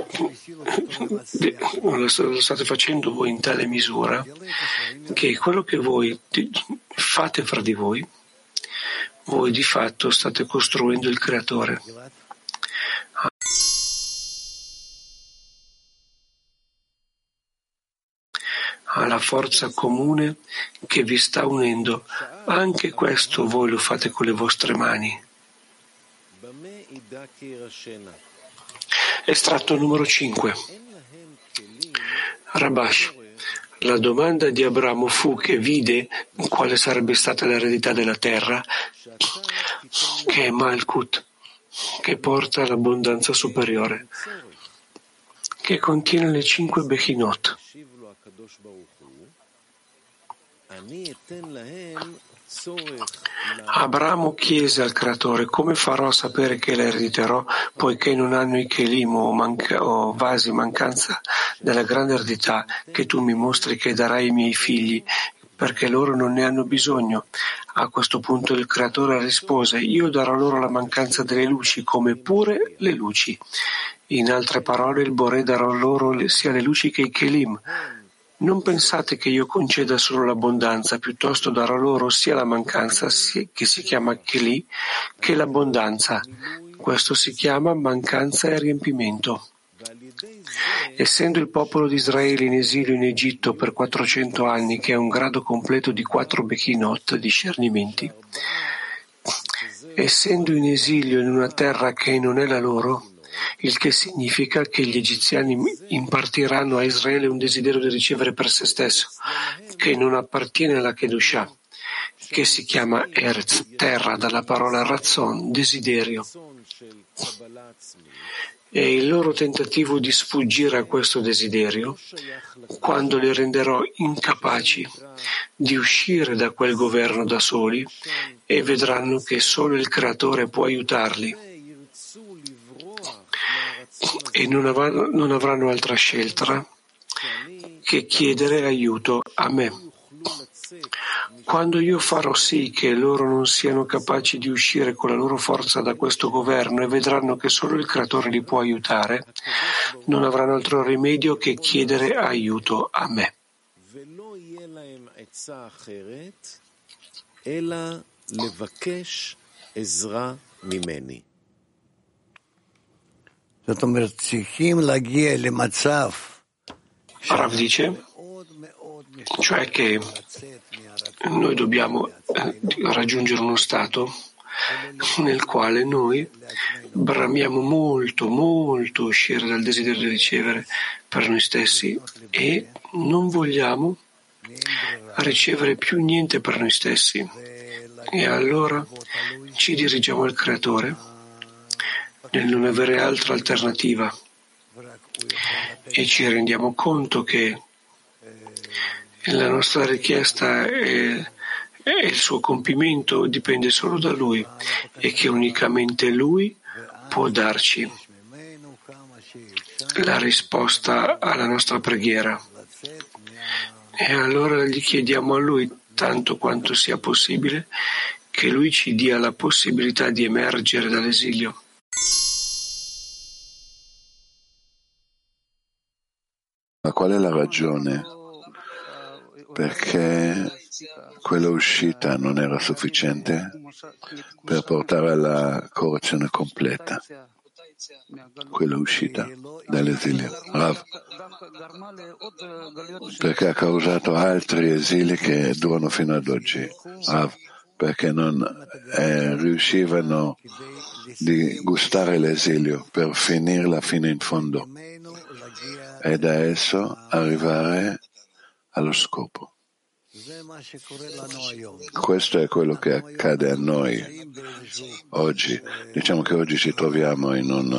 lo state facendo voi in tale misura che quello che voi fate fra di voi di fatto state costruendo il creatore. Alla forza comune che vi sta unendo, anche questo voi lo fate con le vostre mani. Estratto numero 5. Rabash. La domanda di Abramo fu che vide quale sarebbe stata l'eredità della terra, che è Malkut, che porta all'abbondanza superiore, che contiene le 5 Bechinot. Abramo chiese al creatore: come farò a sapere che la erediterò, poiché non hanno i kelim o vasi mancanza della grande eredità che tu mi mostri che darai ai miei figli, perché loro non ne hanno bisogno. A questo punto il creatore rispose: io darò loro la mancanza delle luci come pure le luci. In altre parole, il Boré darò loro sia le luci che i kelim. Non pensate che io conceda solo l'abbondanza, piuttosto darò loro sia la mancanza, che si chiama Keli, che l'abbondanza. Questo si chiama mancanza e riempimento. Essendo il popolo di Israele in esilio in Egitto per 400 anni, che è un grado completo di 4 Bechinot, discernimenti, essendo in esilio in una terra che non è la loro, il che significa che gli egiziani impartiranno a Israele un desiderio di ricevere per se stesso, che non appartiene alla Kedushah, che si chiama Eretz, terra, dalla parola Razzon, desiderio. E il loro tentativo di sfuggire a questo desiderio, quando li renderò incapaci di uscire da quel governo da soli, e vedranno che solo il Creatore può aiutarli, e non avranno altra scelta che chiedere aiuto a me. Quando io farò sì che loro non siano capaci di uscire con la loro forza da questo governo e vedranno che solo il Creatore li può aiutare, non avranno altro rimedio che chiedere aiuto a me. Rav dice, cioè che noi dobbiamo raggiungere uno stato nel quale noi bramiamo molto uscire dal desiderio di ricevere per noi stessi e non vogliamo ricevere più niente per noi stessi, e allora ci dirigiamo al Creatore nel non avere altra alternativa e ci rendiamo conto che la nostra richiesta e il suo compimento dipende solo da Lui e che unicamente Lui può darci la risposta alla nostra preghiera. E allora gli chiediamo a Lui tanto quanto sia possibile che Lui ci dia la possibilità di emergere dall'esilio. Ma qual è la ragione? Perché quella uscita non era sufficiente per portare alla correzione completa, quella uscita dall'esilio. Rav, perché ha causato altri esili che durano fino ad oggi. Rav, perché non riuscivano di gustare l'esilio per finirla fino in fondo e da esso arrivare allo scopo. Questo è quello che accade a noi oggi. Diciamo che oggi ci troviamo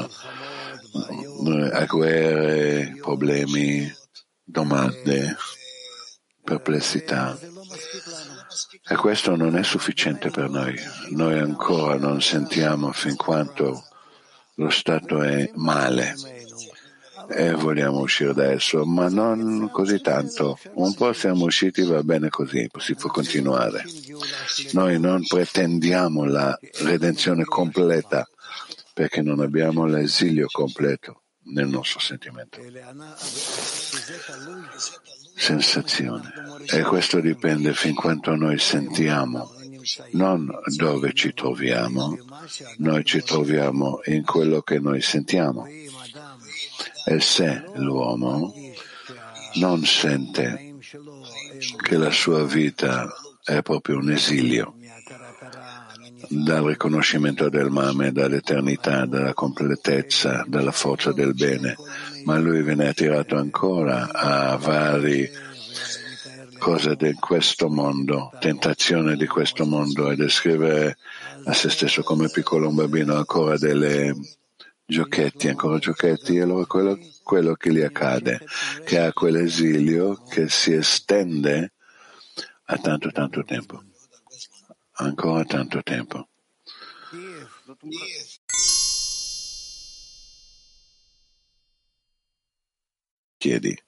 a guerre, problemi, domande, perplessità. E questo non è sufficiente per noi. Noi ancora non sentiamo fin quanto lo stato è male e vogliamo uscire da esso, ma non così tanto. Un po' siamo usciti, va bene così, si può continuare. Noi non pretendiamo la redenzione completa perché non abbiamo l'esilio completo nel nostro sentimento. Sensazione. E questo dipende fin quanto noi sentiamo, non dove ci troviamo. Noi ci troviamo in quello che noi sentiamo. E se l'uomo non sente che la sua vita è proprio un esilio dal riconoscimento del mame, dall'eternità, dalla completezza, dalla forza del bene, ma lui viene attirato ancora a varie cose di questo mondo, tentazione di questo mondo, e descrive a se stesso come piccolo un bambino ancora delle giochetti, e allora quello che gli accade, che ha quell'esilio che si estende a tanto tempo, ancora tanto tempo. Chiedi.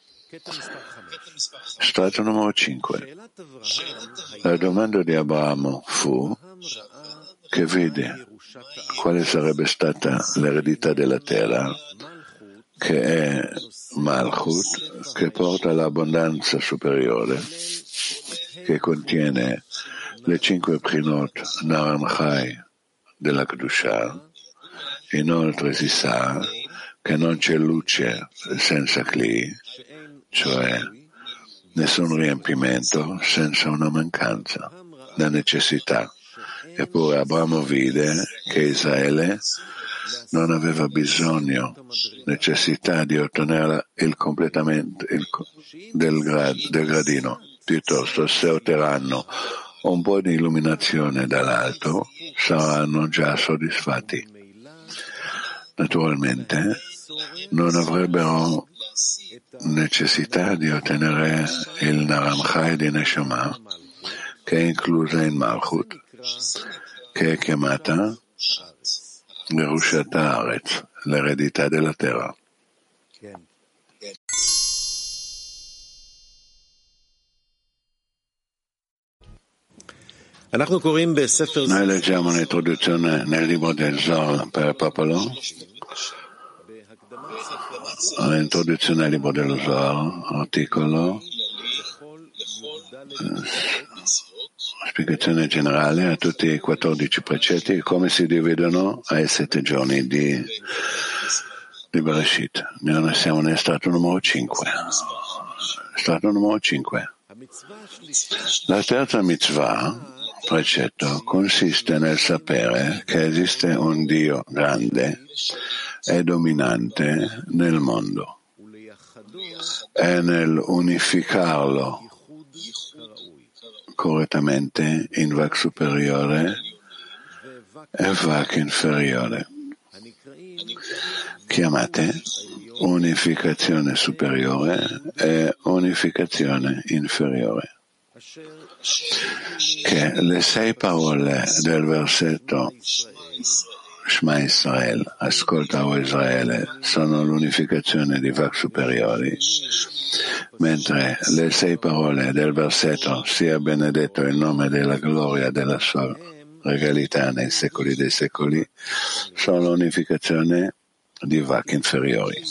Strato numero 5. La domanda di Abramo fu che vede quale sarebbe stata l'eredità della terra, che è Malchut, che porta l'abbondanza superiore, che contiene le 5 Prinot Naramchai della Kedusha. Inoltre si sa che non c'è luce senza Kli, cioè nessun riempimento senza una mancanza, la necessità. Eppure Abramo vide che Israele non aveva bisogno, necessità di ottenere il completamento del gradino. Piuttosto, se otterranno un po' di illuminazione dall'alto, saranno già soddisfatti. Naturalmente, non avrebbero necessità di ottenere il Naramchai di Neshama, che è inclusa in Malchut, che è chiamata Yerushat Haaretz, l'eredità della terra. Noi leggiamo un'introduzione nel libro del Zohar per il popolo. L'introduzione al libro dello Zohar, articolo, spiegazione generale a tutti i 14 precetti, come si dividono ai 7 giorni di Bereshit. Noi siamo nel strato numero 5. Strato numero 5. La terza mitzvah, precetto, consiste nel sapere che esiste un Dio grande e dominante nel mondo e nell'unificarlo correttamente in Vak superiore e Vak inferiore, chiamate unificazione superiore e unificazione inferiore, che le 6 parole del versetto Shema Israel, ascolta o Israele, sono l'unificazione di Vak superiori, mentre le 6 parole del versetto sia benedetto il nome della gloria della sua regalità nei secoli dei secoli, sono l'unificazione di Vak inferiori.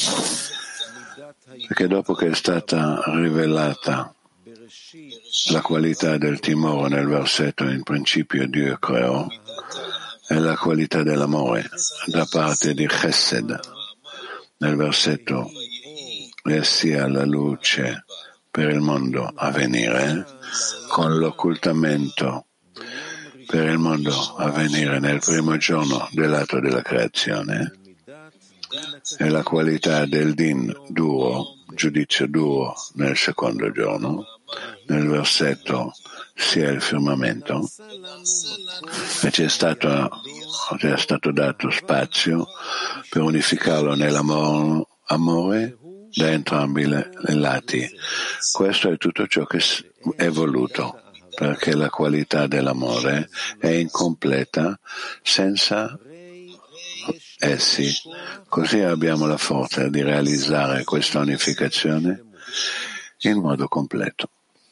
Perché dopo che è stata rivelata la qualità del timore nel versetto in principio Dio creò, e la qualità dell'amore da parte di Chesed nel versetto e sia la luce per il mondo a venire, con l'occultamento per il mondo a venire nel primo giorno dell'atto della creazione, e la qualità del din duro giudizio duro nel secondo giorno, nel versetto sia il firmamento, e ci è stato dato spazio per unificarlo nell'amore da entrambi i lati. Questo è tutto ciò che è voluto, perché la qualità dell'amore è incompleta senza essi. Così abbiamo la forza di realizzare questa unificazione in modo completo.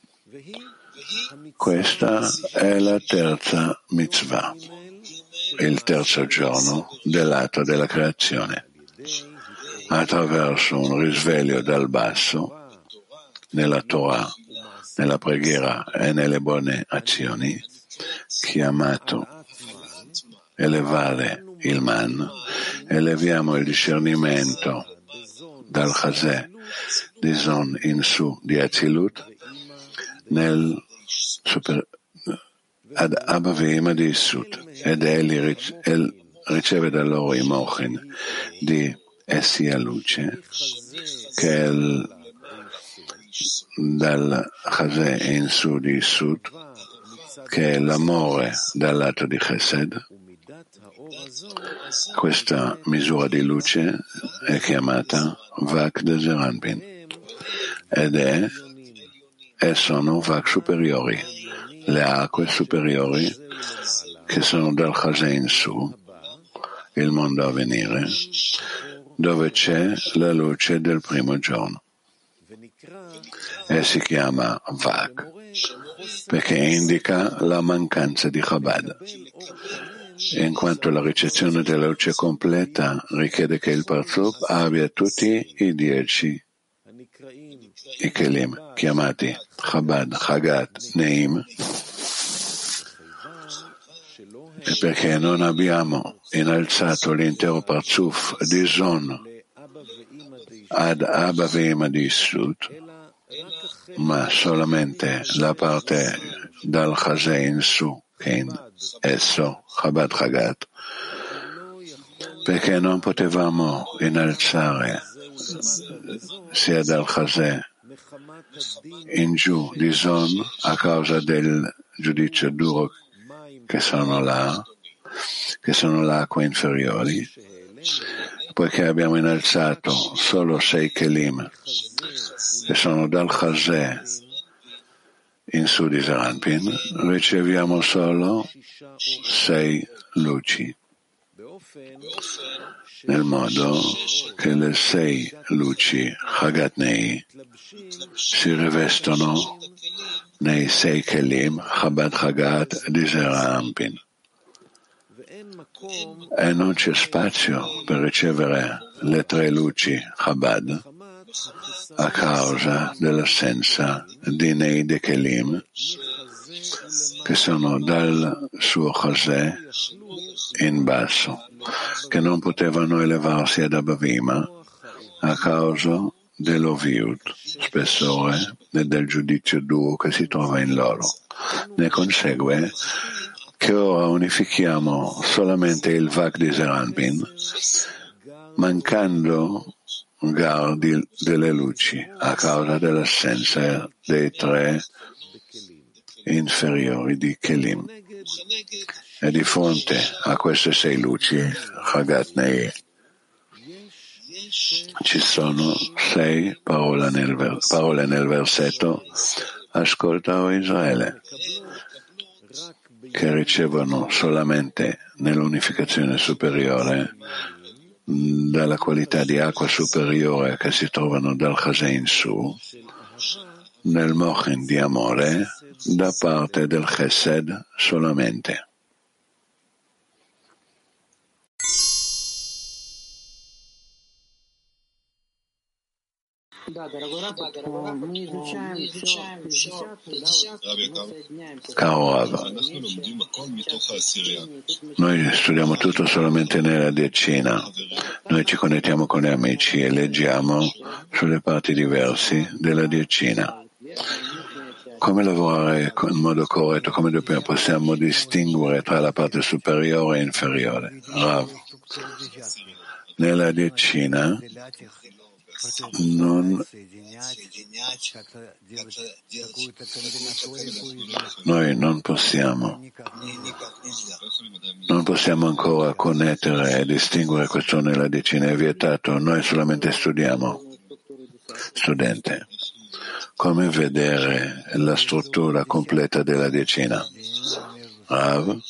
Questa è la terza mitzvah, il terzo giorno dell'atto della creazione. Attraverso un risveglio dal basso, nella Torah, nella preghiera e nelle buone azioni, chiamato elevare il man, eleviamo il discernimento dal Chazè di Zon in su di Azilut ad Abba Ve'ima di Issut, ed egli riceve da loro i mochin di essi a luce, che è dal Chazè in su di Issut, che è l'amore dal lato di Chesed. Questa misura di luce è chiamata Vak de Zeranpin e sono Vak superiori, le acque superiori che sono dal Chazè in su, il mondo a venire, dove c'è la luce del primo giorno. E si chiama Vak perché indica la mancanza di Chabad, in quanto la ricezione della luce completa richiede che il Parzuf abbia tutti i 10 i Kelim, chiamati Chabad, Chagat, Neim, e perché non abbiamo innalzato l'intero Parzuf di Zon ad Abba Ve'ima di Issut, ma solamente la parte dal Chazè in su, che in esso, Chabad Chagat, perché non potevamo innalzare sia dal Chazè in giù di Zon a causa del giudizio duro che sono l'acqua inferiori, poiché abbiamo innalzato solo 6 Kelim che sono dal Chazè in su di Zeranpin, riceviamo solo 6 luci, nel modo che le 6 luci Chagat Nei si rivestono nei 6 Kelim Chabad Chagat di Zeranpin, e non c'è spazio per ricevere le 3 luci Chabad a causa dell'assenza di Nei de Kelim che sono dal suo Chazè in basso, che non potevano elevarsi ad Abba Ve'ima a causa dell'oviut, spessore e del giudizio duro che si trova in loro. Ne consegue che ora unifichiamo solamente il Vak di Zeranpin, mancando delle luci a causa dell'assenza dei 3 inferiori di Kelim. E di fronte a queste 6 luci, Chagat Nei, ci sono 6 parole nel versetto Ascolta, o Israele, che ricevono solamente nell'unificazione superiore dalla qualità di acqua superiore che si trovano dal Chazè in su, nel mochin di amore da parte del Chesed solamente. Caro Rav, noi studiamo tutto solamente nella decina. Noi ci connettiamo con gli amici e leggiamo sulle parti diverse della decina. Come lavorare in modo corretto? Come possiamo distinguere tra la parte superiore e inferiore? Rav, nella decina Noi non possiamo ancora connettere e distinguere questo nella decina, è vietato, noi solamente studiamo. Studente, come vedere la struttura completa della decina? Rav,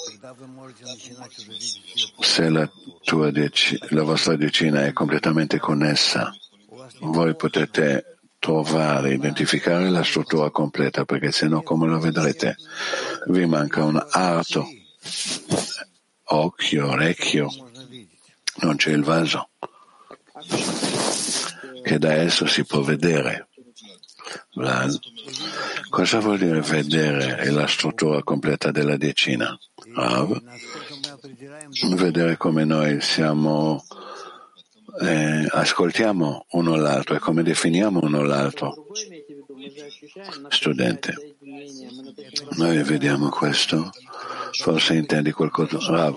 se la vostra decina è completamente connessa, voi potete trovare, identificare la struttura completa, perché se no come lo vedrete? Vi manca un arto, occhio, orecchio, non c'è il vaso, che da esso si può vedere. Cosa vuol dire vedere la struttura completa della decina? Vedere come noi siamo, ascoltiamo uno l'altro e come definiamo uno l'altro. Studente, noi vediamo questo? Forse intendi qualcosa?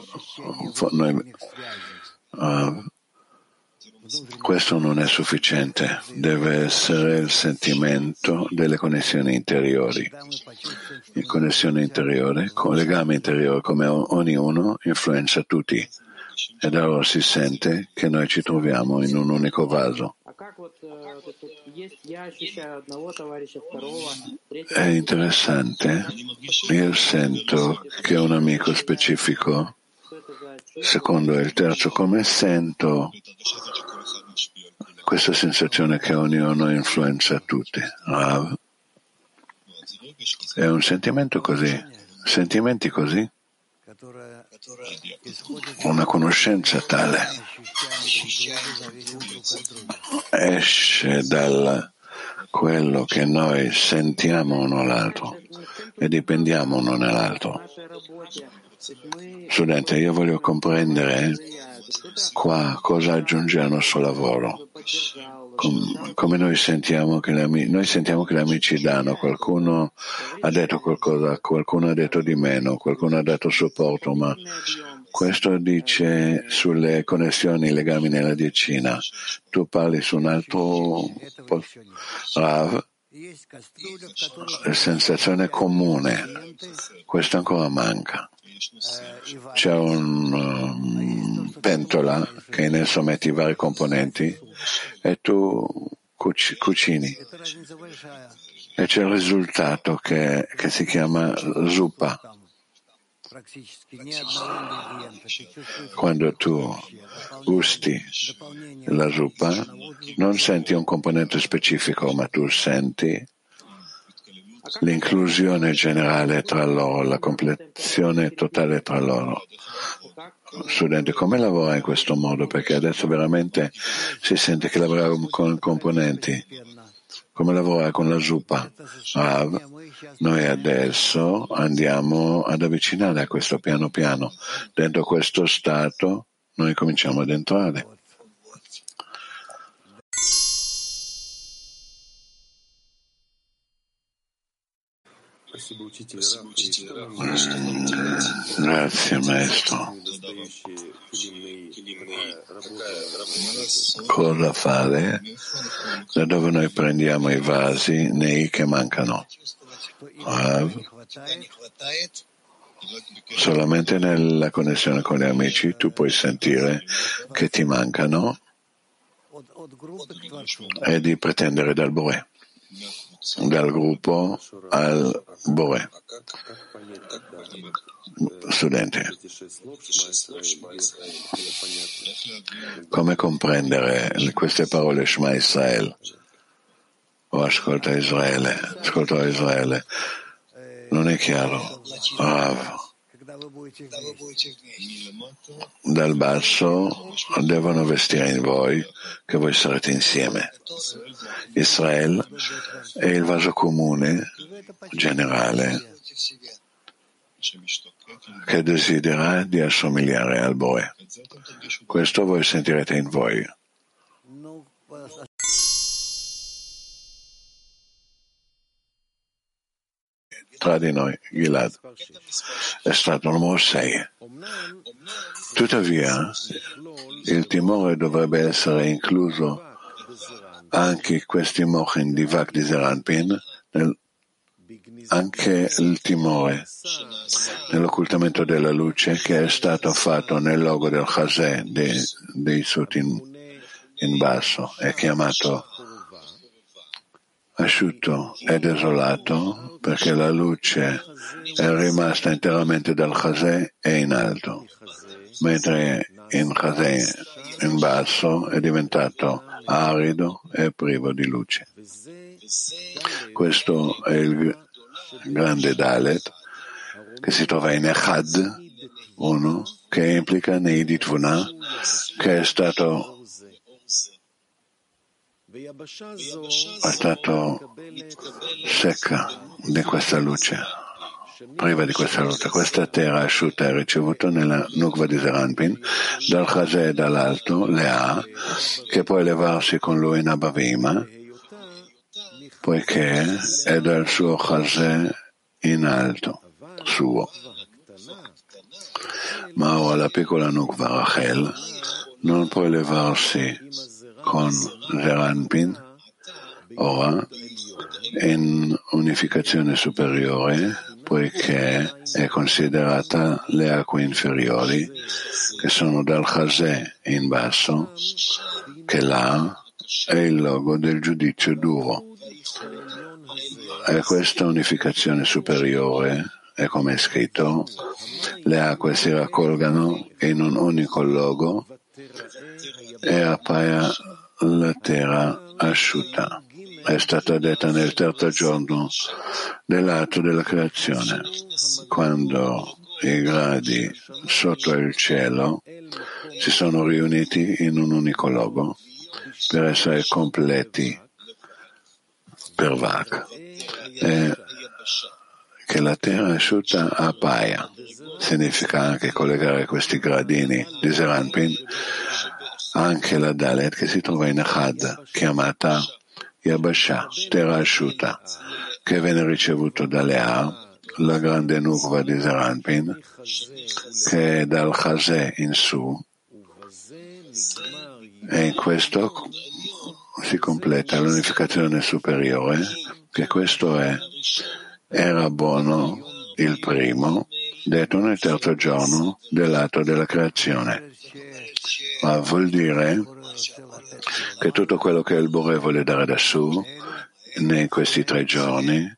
Questo non è sufficiente, deve essere il sentimento delle connessioni interiori. Il connessione interiore, con legame interiore, come ognuno influenza tutti, ed allora si sente che noi ci troviamo in un unico vaso. È interessante, io sento che un amico specifico, secondo il terzo, come sento questa sensazione che ognuno influenza tutti. È un sentimento così, sentimenti così, una conoscenza tale esce da quello che noi sentiamo uno all'altro e dipendiamo uno nell'altro. Studente, io voglio comprendere qua cosa aggiunge al nostro lavoro. Come noi sentiamo che gli amici danno, qualcuno ha detto qualcosa, qualcuno ha detto di meno, qualcuno ha dato supporto, ma questo dice sulle connessioni, legami nella decina. Tu parli su un altro Rav, sensazione comune, questo ancora manca. C'è un pentola che in esso metti i vari componenti e tu cucini e c'è il risultato che si chiama zuppa. Quando tu gusti la zuppa non senti un componente specifico, ma tu senti l'inclusione generale tra loro, la complezione totale tra loro. Studente, come lavora in questo modo? Perché adesso veramente si sente che lavora con componenti. Come lavora con la zuppa? Noi adesso andiamo ad avvicinare a questo piano piano. Dentro questo stato noi cominciamo ad entrare. Grazie maestro. Cosa fare da dove noi prendiamo i vasi nei che mancano? Solamente nella connessione con gli amici tu puoi sentire che ti mancano e di pretendere dal Boré, dal gruppo al Boré. Studente, come comprendere queste parole Shema Israel o ascolta Israele? Non è chiaro. Dal basso devono vestire in voi che voi sarete insieme. Israele è il vaso comune generale che desidera di assomigliare al Boe. Questo voi sentirete in voi. Tra di noi, Gilad, è stato il numero 6. Tuttavia, il timore dovrebbe essere incluso anche questi mochin di Vak di Zeranpin, anche il timore nell'occultamento della luce che è stato fatto nel logo del Chazè dei Sut in basso, è chiamato asciutto e desolato perché la luce è rimasta interamente dal Chazè e in alto, mentre in Chazè in basso è diventato arido e privo di luce. Questo è il grande Dalet che si trova in Echad 1, che implica Neidit Vuna, che è stato secca di questa luce, priva di questa luce. Questa terra asciutta è ricevuta nella Nukva di Zeranpin dal Chazè dall'alto, Lea, che può elevarsi con lui in Abavima, poiché è dal suo Chazè in alto, suo. Ma ora la piccola Nukva Rachel non può elevarsi con Zeranpin ora in unificazione superiore, poiché è considerata le acque inferiori che sono dal Chazè in basso, che là è il logo del giudizio duro. E questa unificazione superiore è come è scritto: le acque si raccolgano in un unico logo e appaia la terra asciutta. È stata detta nel terzo giorno dell'atto della creazione, quando i gradi sotto il cielo si sono riuniti in un unico logo per essere completi per Vak, e che la terra asciutta appaia. Significa anche collegare questi gradini di Zeranpin anche la Dalet che si trova in Echad, chiamata Yabasha, terra asciutta, che viene ricevuto da Lea, la grande Nukva di Zeranpin, che è dal Chazè in su, e in questo si completa l'unificazione superiore, che questo era buono il primo, detto nel terzo giorno dell'atto della creazione. Ma vuol dire che tutto quello che il Bore vuole dare da su in questi 3 giorni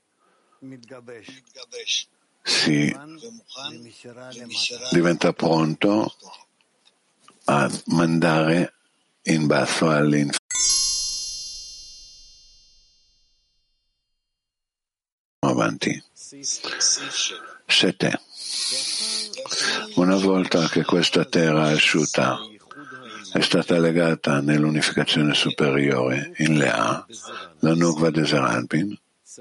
si diventa pronto a mandare in basso all'inferno avanti. 7. Una volta che questa terra asciutta è stata legata nell'unificazione superiore in Lea, la Nukva di Zeranpin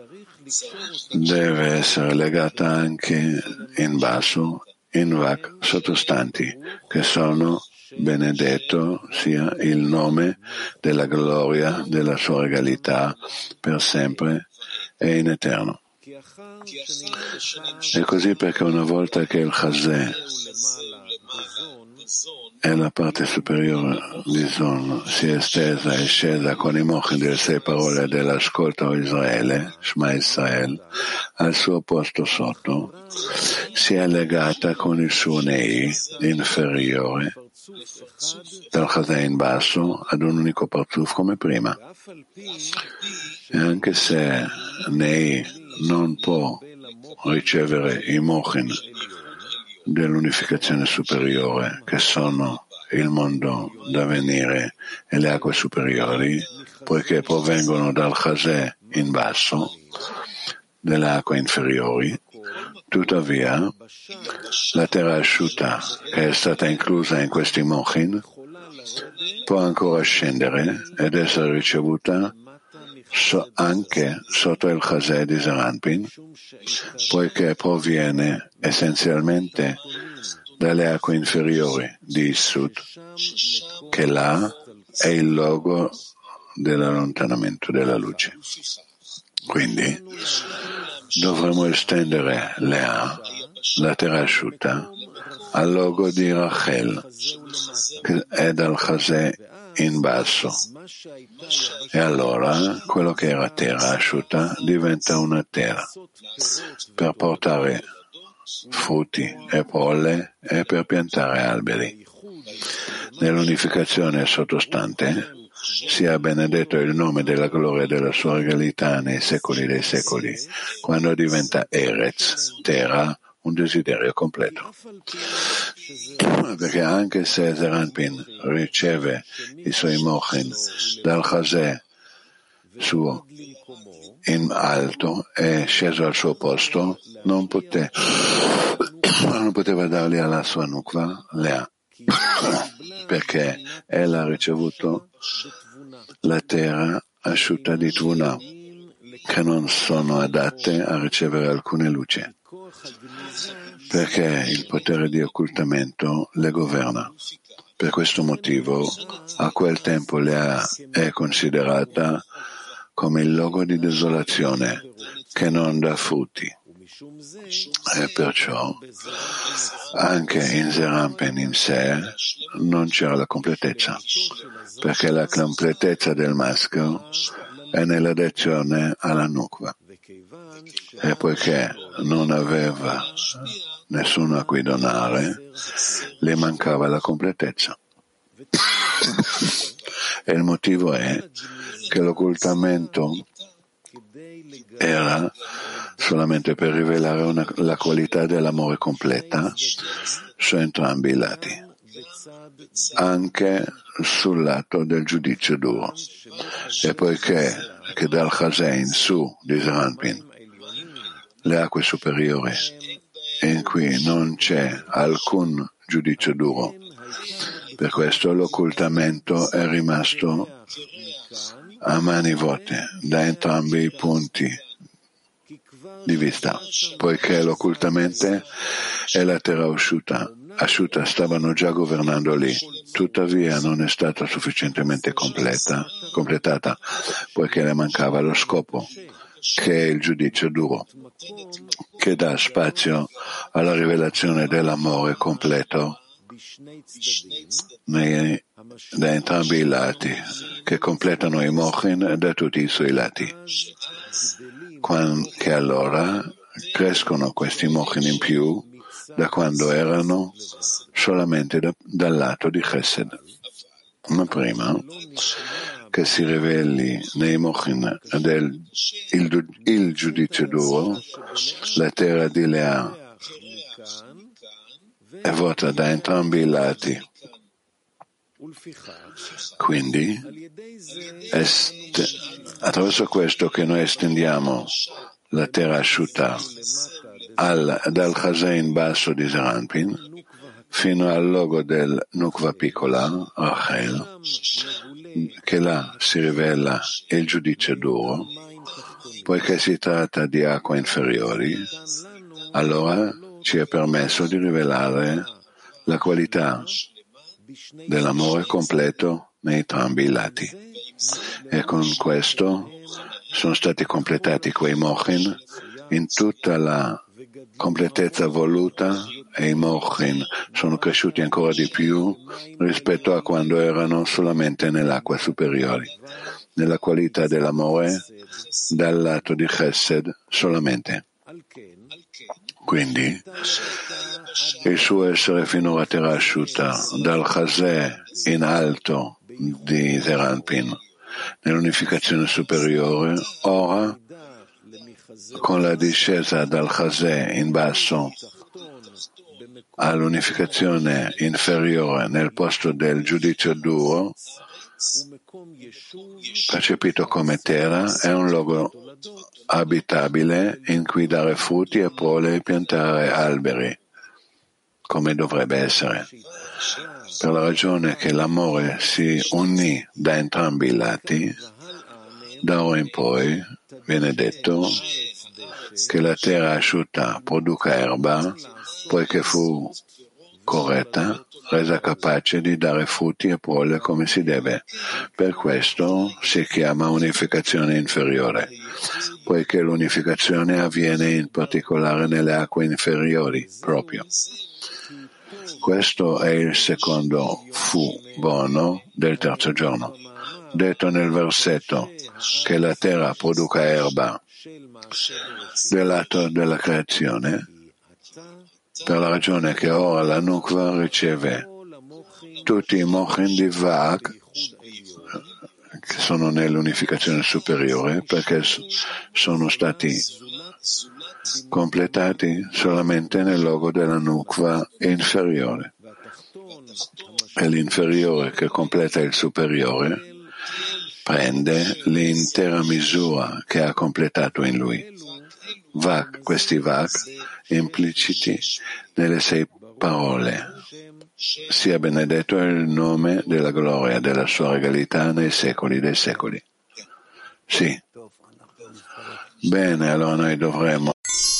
deve essere legata anche in basso in Vak sottostanti, che sono benedetto sia il nome della gloria della sua regalità per sempre e in eterno. E così perché una volta che il Chazè e la parte superiore di Zon si è estesa e scesa con i mochin delle 6 parole dell'ascolto a Israele, Shema Israel, al suo posto sotto, si è legata con il suo Nei inferiore dal Chazè in basso ad un unico Parzuf come prima. E anche se Nei non può ricevere i mochin dell'unificazione superiore, che sono il mondo da venire e le acque superiori, poiché provengono dal Chazè in basso, delle acque inferiori. Tuttavia, la terra asciutta, che è stata inclusa in questi mochin, può ancora scendere ed essere ricevuta anche sotto il Chazè di Zeranpin, poiché proviene essenzialmente dalle acque inferiori di Issut, che là è il logo dell'allontanamento della luce. Quindi dovremo estendere Lea, la terra asciutta, al logo di Rachel, che è dal Chazè in basso. E allora quello che era terra asciutta diventa una terra per portare frutti e prole e per piantare alberi. Nell'unificazione sottostante sia benedetto il nome della gloria e della sua regalità nei secoli dei secoli, quando diventa Eretz, terra, un desiderio completo. Perché anche se Zeranpin riceve i suoi mochin dal Chazè suo in alto e sceso al suo posto, non poteva darli alla sua nukva, Lea, perché ella ha ricevuto la terra asciutta di Tvuna, che non sono adatte a ricevere alcune luci, perché il potere di occultamento le governa. Per questo motivo, a quel tempo Lea è considerata come il logo di desolazione che non dà frutti. E perciò anche in Zeranpin in sé non c'era la completezza, perché la completezza del maschio è nell'adesione alla nukva. E poiché non aveva nessuno a cui donare, le mancava la completezza. E il motivo è che l'occultamento era solamente per rivelare la qualità dell'amore completa su entrambi i lati, anche sul lato del giudizio duro. E poiché che dal Chazè in su di Zeranpin, le acque superiori, in cui non c'è alcun giudizio duro, per questo l'occultamento è rimasto a mani vuote da entrambi i punti di vista, poiché l'occultamento e la terra asciutta stavano già governando lì, tuttavia non è stata sufficientemente completata, poiché le mancava lo scopo, che è il giudizio duro, che dà spazio alla rivelazione dell'amore completo da entrambi i lati, che completano i mochin da tutti i suoi lati, che allora crescono questi mochin in più da quando erano solamente dal lato di Chesed. Ma prima che si riveli nei mochin il giudizio duro, la terra di Lea è vuota da entrambi i lati. Quindi attraverso questo che noi estendiamo la terra asciutta dal Chazè in basso di Zeranpin fino al logo del Nukva piccola, Rachel, che là si rivela il giudizio duro, poiché si tratta di acque inferiori, allora ci è permesso di rivelare la qualità dell'amore completo nei entrambi i lati. E con questo sono stati completati quei mochin in tutta la completezza voluta, e i mochin sono cresciuti ancora di più rispetto a quando erano solamente nell'acqua superiore, nella qualità dell'amore dal lato di Chesed solamente. Quindi il suo essere finora terra asciutta dal Chazè in alto di Zeranpin nell'unificazione superiore, ora con la discesa dal Chazè in basso all'unificazione inferiore nel posto del giudizio duro, percepito come terra, è un luogo abitabile in cui dare frutti e prole e piantare alberi, come dovrebbe essere. Per la ragione che l'amore si unì da entrambi i lati, da ora in poi viene detto che la terra asciutta produca erba, poiché fu corretta, resa capace di dare frutti e prole come si deve. Per questo si chiama unificazione inferiore, poiché l'unificazione avviene in particolare nelle acque inferiori proprio. Questo è il secondo fu buono del terzo giorno, detto nel versetto che la terra produca erba dell'atto della creazione, per la ragione che ora la Nukva riceve tutti i mochin di Vak che sono nell'unificazione superiore, perché sono stati completati solamente nel logo della Nukva inferiore. E l'inferiore che completa il superiore prende l'intera misura che ha completato in lui. Vak, questi Vak impliciti nelle 6 parole. Sia benedetto il nome della gloria della sua regalità nei secoli dei secoli. Sì. Bene, allora noi dovremo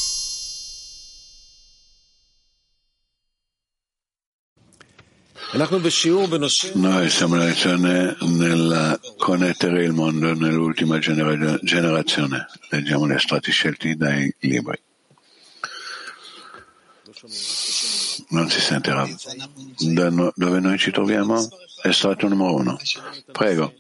Noi siamo in lezione nella connettere il mondo nell'ultima generazione. Leggiamo gli estratti scelti dai libri. Non si sente, Rav. Dove noi ci troviamo? Estratto numero 1. Prego.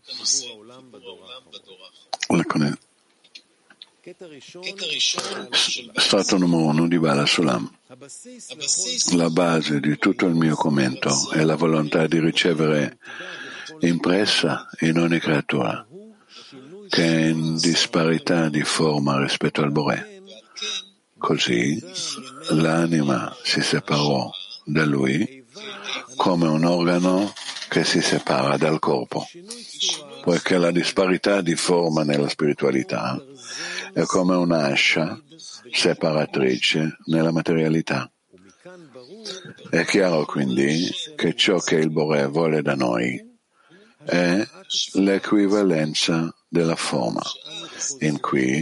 Estratto numero 1 di Bala Sulam. La base di tutto il mio commento è la volontà di ricevere impressa in ogni creatura che è in disparità di forma rispetto al Boré. Così l'anima si separò da lui come un organo che si separa dal corpo, poiché la disparità di forma nella spiritualità è come un'ascia separatrice nella materialità. È chiaro quindi che ciò che il Boré vuole da noi è l'equivalenza della forma, in cui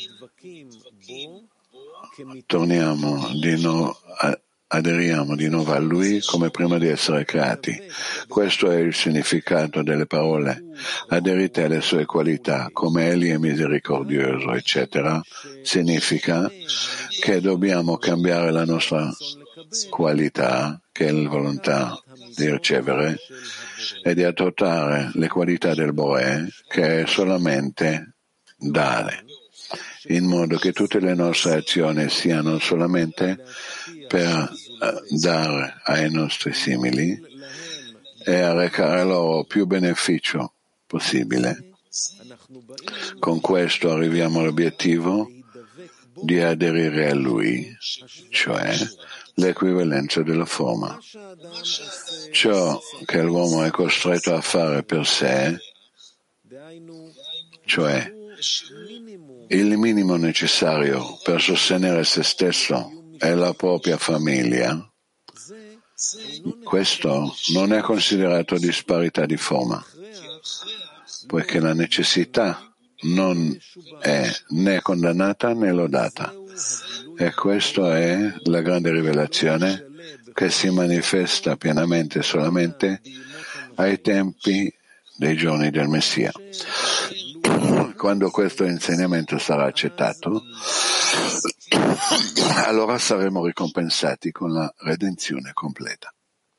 aderiamo di nuovo a Lui come prima di essere creati. Questo è il significato delle parole. Aderite alle sue qualità, come Egli è misericordioso, eccetera, significa che dobbiamo cambiare la nostra qualità, che è la volontà di ricevere, e di adottare le qualità del Boré, che è solamente dare, in modo che tutte le nostre azioni siano solamente per dare ai nostri simili e a recare loro più beneficio possibile. Con questo arriviamo all'obiettivo di aderire a Lui, cioè l'equivalenza della forma. Ciò che l'uomo è costretto a fare per sé, cioè il minimo necessario per sostenere se stesso e la propria famiglia, questo non è considerato disparità di forma, poiché la necessità non è né condannata né lodata. E questa è la grande rivelazione che si manifesta pienamente solamente ai tempi dei giorni del Messia. Quando questo insegnamento sarà accettato, allora saremo ricompensati con la redenzione completa.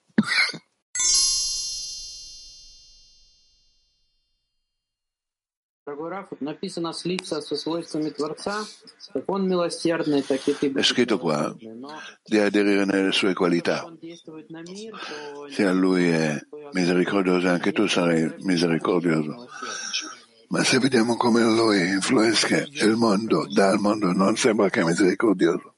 È scritto qua di aderire nelle sue qualità. Se lui è misericordioso, anche tu sarai misericordioso. Ma se vediamo come lui influenza il mondo, dal mondo, non sembra che è misericordioso.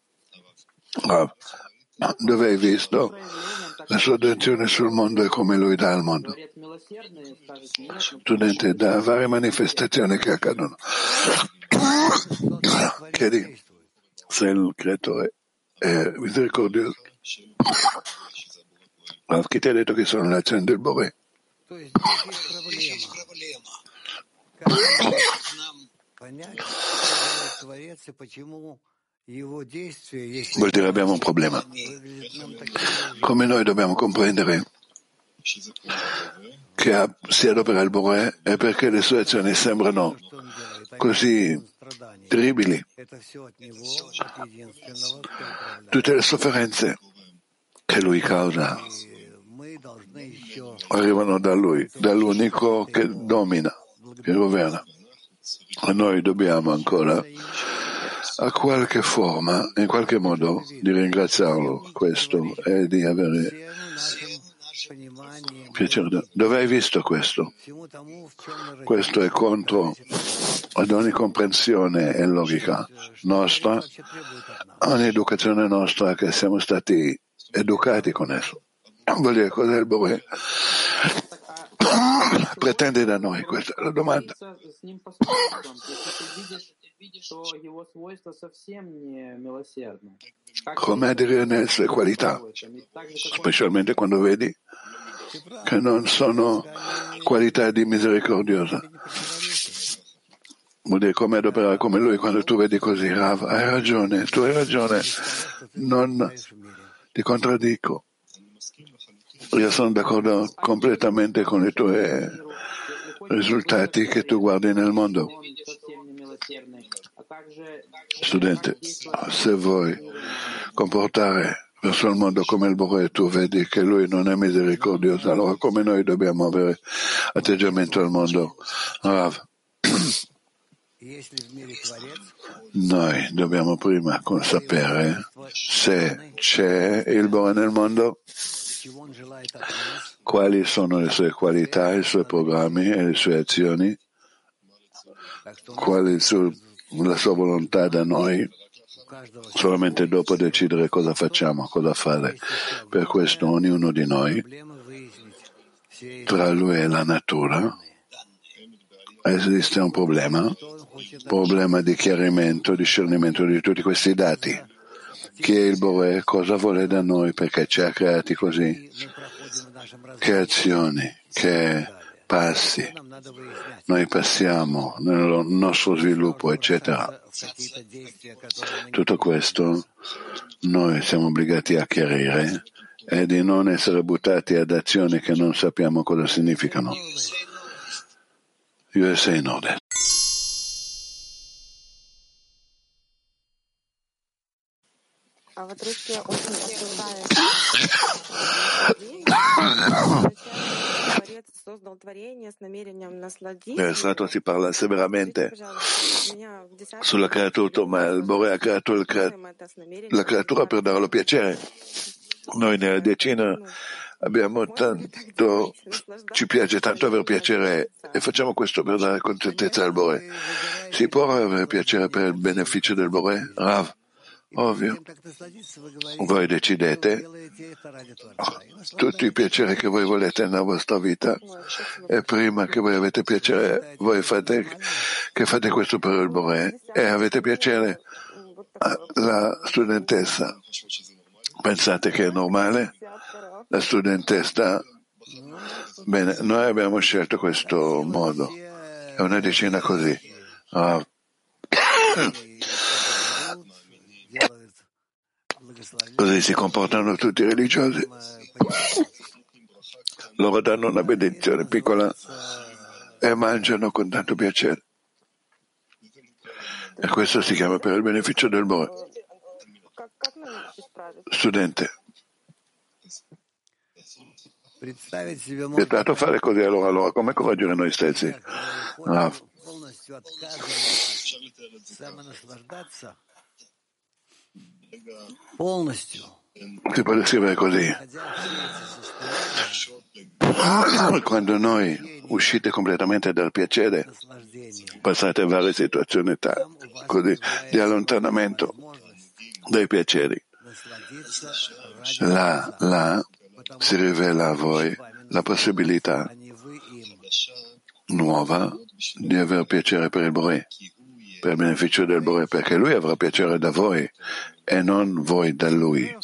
Dove hai visto la sua attenzione sul mondo e come lui dà al mondo? Studente, da varie manifestazioni che accadono. Chiedi se il creatore è misericordioso. Chi ti ha detto che sono le azioni del Boré? vuol dire abbiamo un problema. Come noi dobbiamo comprendere che si adopera il Boré è perché le sue azioni sembrano così terribili. Tutte le sofferenze che lui causa arrivano da lui, dall'unico che domina, che governa. E noi dobbiamo ancora, a qualche forma, in qualche modo, di ringraziarlo questo e di avere piacere. Dove hai visto questo? Questo è contro ad ogni comprensione e logica nostra, ogni educazione nostra che siamo stati educati con esso. Vuol dire cos'è il Boré? Pretende da noi, questa è la domanda. Come aderire nelle sue qualità, specialmente quando vedi che non sono qualità di misericordiosa. Vuol dire come adoperare come lui. Quando tu vedi così, Rav, hai ragione, tu hai ragione, non ti contraddico. Io sono d'accordo completamente con i tuoi risultati che tu guardi nel mondo. Studente, se vuoi comportare verso il mondo come il Boré, tu vedi che lui non è misericordioso, allora come noi dobbiamo avere atteggiamento al mondo? Rav, noi dobbiamo prima sapere se c'è il Boré nel mondo, quali sono le sue qualità, i suoi programmi e le sue azioni, qual è la sua volontà da noi, solamente dopo decidere cosa facciamo, cosa fare. Per questo ognuno di noi, tra lui e la natura, esiste un problema di chiarimento, discernimento di tutti questi dati. Chi è il Boré, cosa vuole da noi, perché ci ha creati così, che azioni, che passi noi passiamo nel nostro sviluppo, eccetera. Tutto questo noi siamo obbligati a chiarire e di non essere buttati ad azioni che non sappiamo cosa significano. USA in ordine. Nel Strato si parla severamente sulla creatura, ma il Boré ha creato la creatura per darlo piacere. Noi nella decina abbiamo tanto, ci piace tanto avere piacere e facciamo questo per dare contentezza al Boré. Si può avere piacere per il beneficio del Boré? Rav, ovvio. Voi decidete tutti i piaceri che voi volete nella vostra vita e prima che voi avete piacere, voi fate questo per il Boré e avete piacere. La studentessa, pensate che è normale? La studentessa, bene, noi abbiamo scelto questo modo, è una decina così. Così si comportano tutti i religiosi. Loro danno una benedizione piccola e mangiano con tanto piacere. E questo si chiama per il beneficio del Boré. Studente, è stato fare così allora come correggere noi stessi? Si può descrivere così. Quando noi uscite completamente dal piacere, passate varie situazioni così di allontanamento dai piaceri. Là si rivela a voi la possibilità nuova di avere piacere per il Boré, per il beneficio del Boré, perché lui avrà piacere da voi e non voi da lui.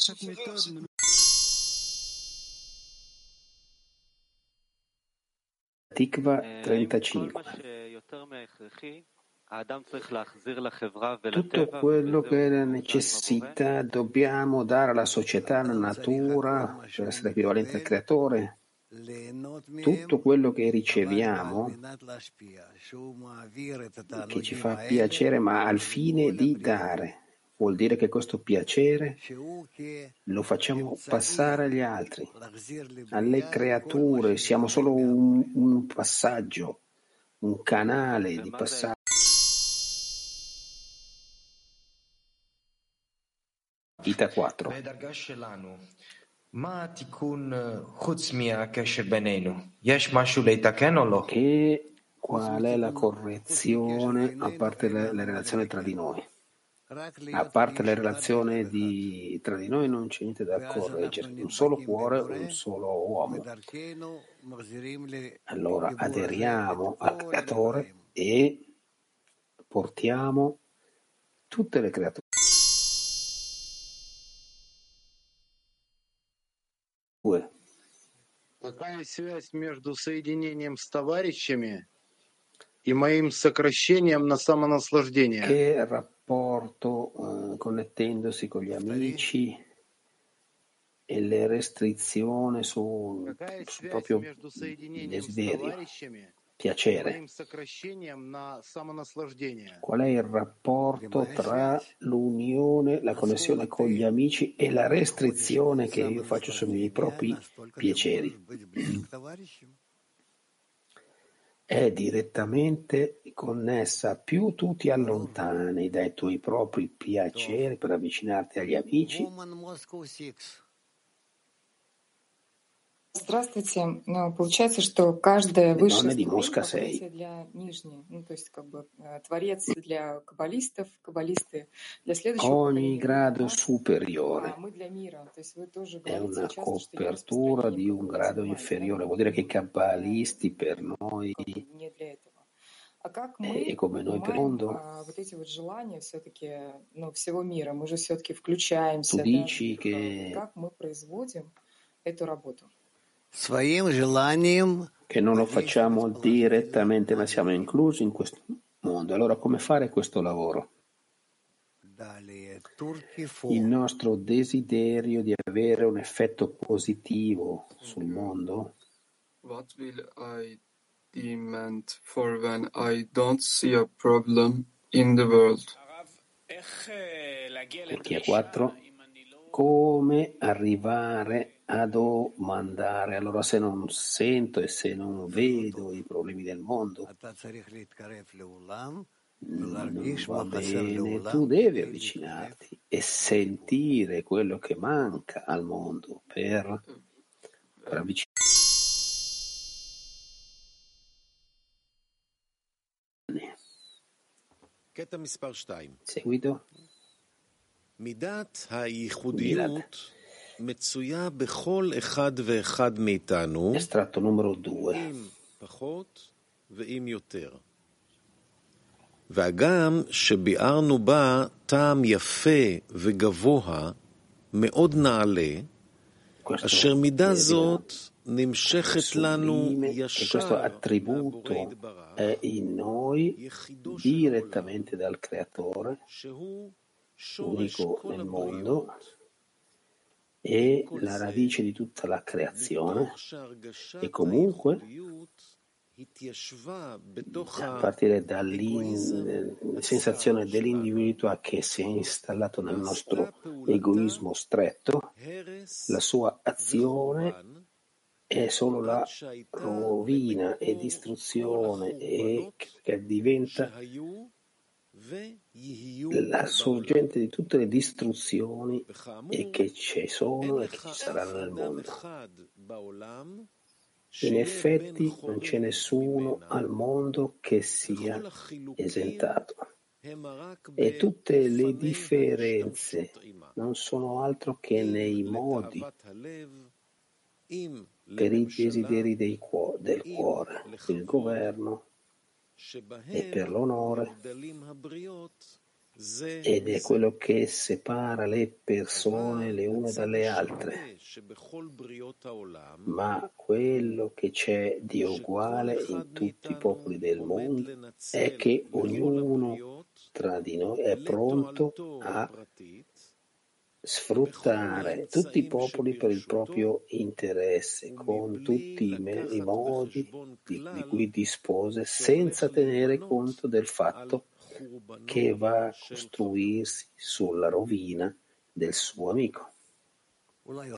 Tikva 35. Tutto quello che è la necessità dobbiamo dare alla società, alla natura, per essere equivalente al creatore. Tutto quello che riceviamo, che ci fa piacere, ma al fine di dare, vuol dire che questo piacere lo facciamo passare agli altri, alle creature, siamo solo un passaggio, un canale di passaggio. Ita 4. Che qual è la correzione a parte le relazioni tra di noi? A parte le relazioni tra di noi non c'è niente da correggere, un solo cuore, un solo uomo. Allora aderiamo al creatore e portiamo tutte le creature. Какая связь между соединением с товарищами и моим сокращением на самонаслаждение? Che rapporto connettendosi con gli amici e le restrizioni su proprio desiderio, piacere. Qual è il rapporto tra l'unione, la connessione con gli amici e la restrizione che io faccio sui miei propri piaceri? È direttamente connessa, più tu ti allontani dai tuoi propri piaceri per avvicinarti agli amici. Здравствуйте. Получается, что каждая высшая ступень покрытие для нижней. Ну, то есть, как бы, творец для каббалистов, каббалисты для следующего Ogni поколения. grado superiore А мы для мира. То есть вы тоже è говорите una часто, что я copertura di un grado inferiore, vuol dire che i kabbalisti per noi не для этого. А как мы e come noi per il понимаем mondo, вот эти вот желания все-таки, ну, всего мира? Мы же все-таки включаемся, tu да, dici в них. che Как мы производим эту работу? che non lo facciamo direttamente, ma siamo inclusi in questo mondo. Allora come fare questo lavoro? Il nostro desiderio di avere un effetto positivo sul mondo. What will I demand for when I don't see a problem in the world? Turchia 4. Come arrivare a domandare? Allora se non sento e se non vedo i problemi del mondo, non va bene, tu devi avvicinarti e sentire quello che manca al mondo per avvicinarti. קטע מספר 2. Seguito. מידת הייחודיות מצויה בכל אחד ואחד מאיתנו, Estratto numero 2. עם פחות ועם יותר. והגם שביארנו בה טעם יפה וגבוה מאוד נעלה, אשר מידה זאת נמשכת לנו questo attributo è in noi direttamente dal creatore, unico nel mondo, e la radice di tutta la creazione, e comunque a partire dalla sensazione dell'individualità che si è installato nel nostro egoismo stretto, la sua azione è solo la rovina e distruzione, e che diventa la sorgente di tutte le distruzioni e che ci sono e che ci saranno nel mondo. In effetti non c'è nessuno al mondo che sia esentato, e tutte le differenze non sono altro che nei modi per i desideri del cuore, per il governo e per l'onore, ed è quello che separa le persone le une dalle altre. Ma quello che c'è di uguale in tutti i popoli del mondo è che ognuno tra di noi è pronto a sfruttare tutti i popoli per il proprio interesse, con tutti i modi di cui dispose, senza tenere conto del fatto che va a costruirsi sulla rovina del suo amico.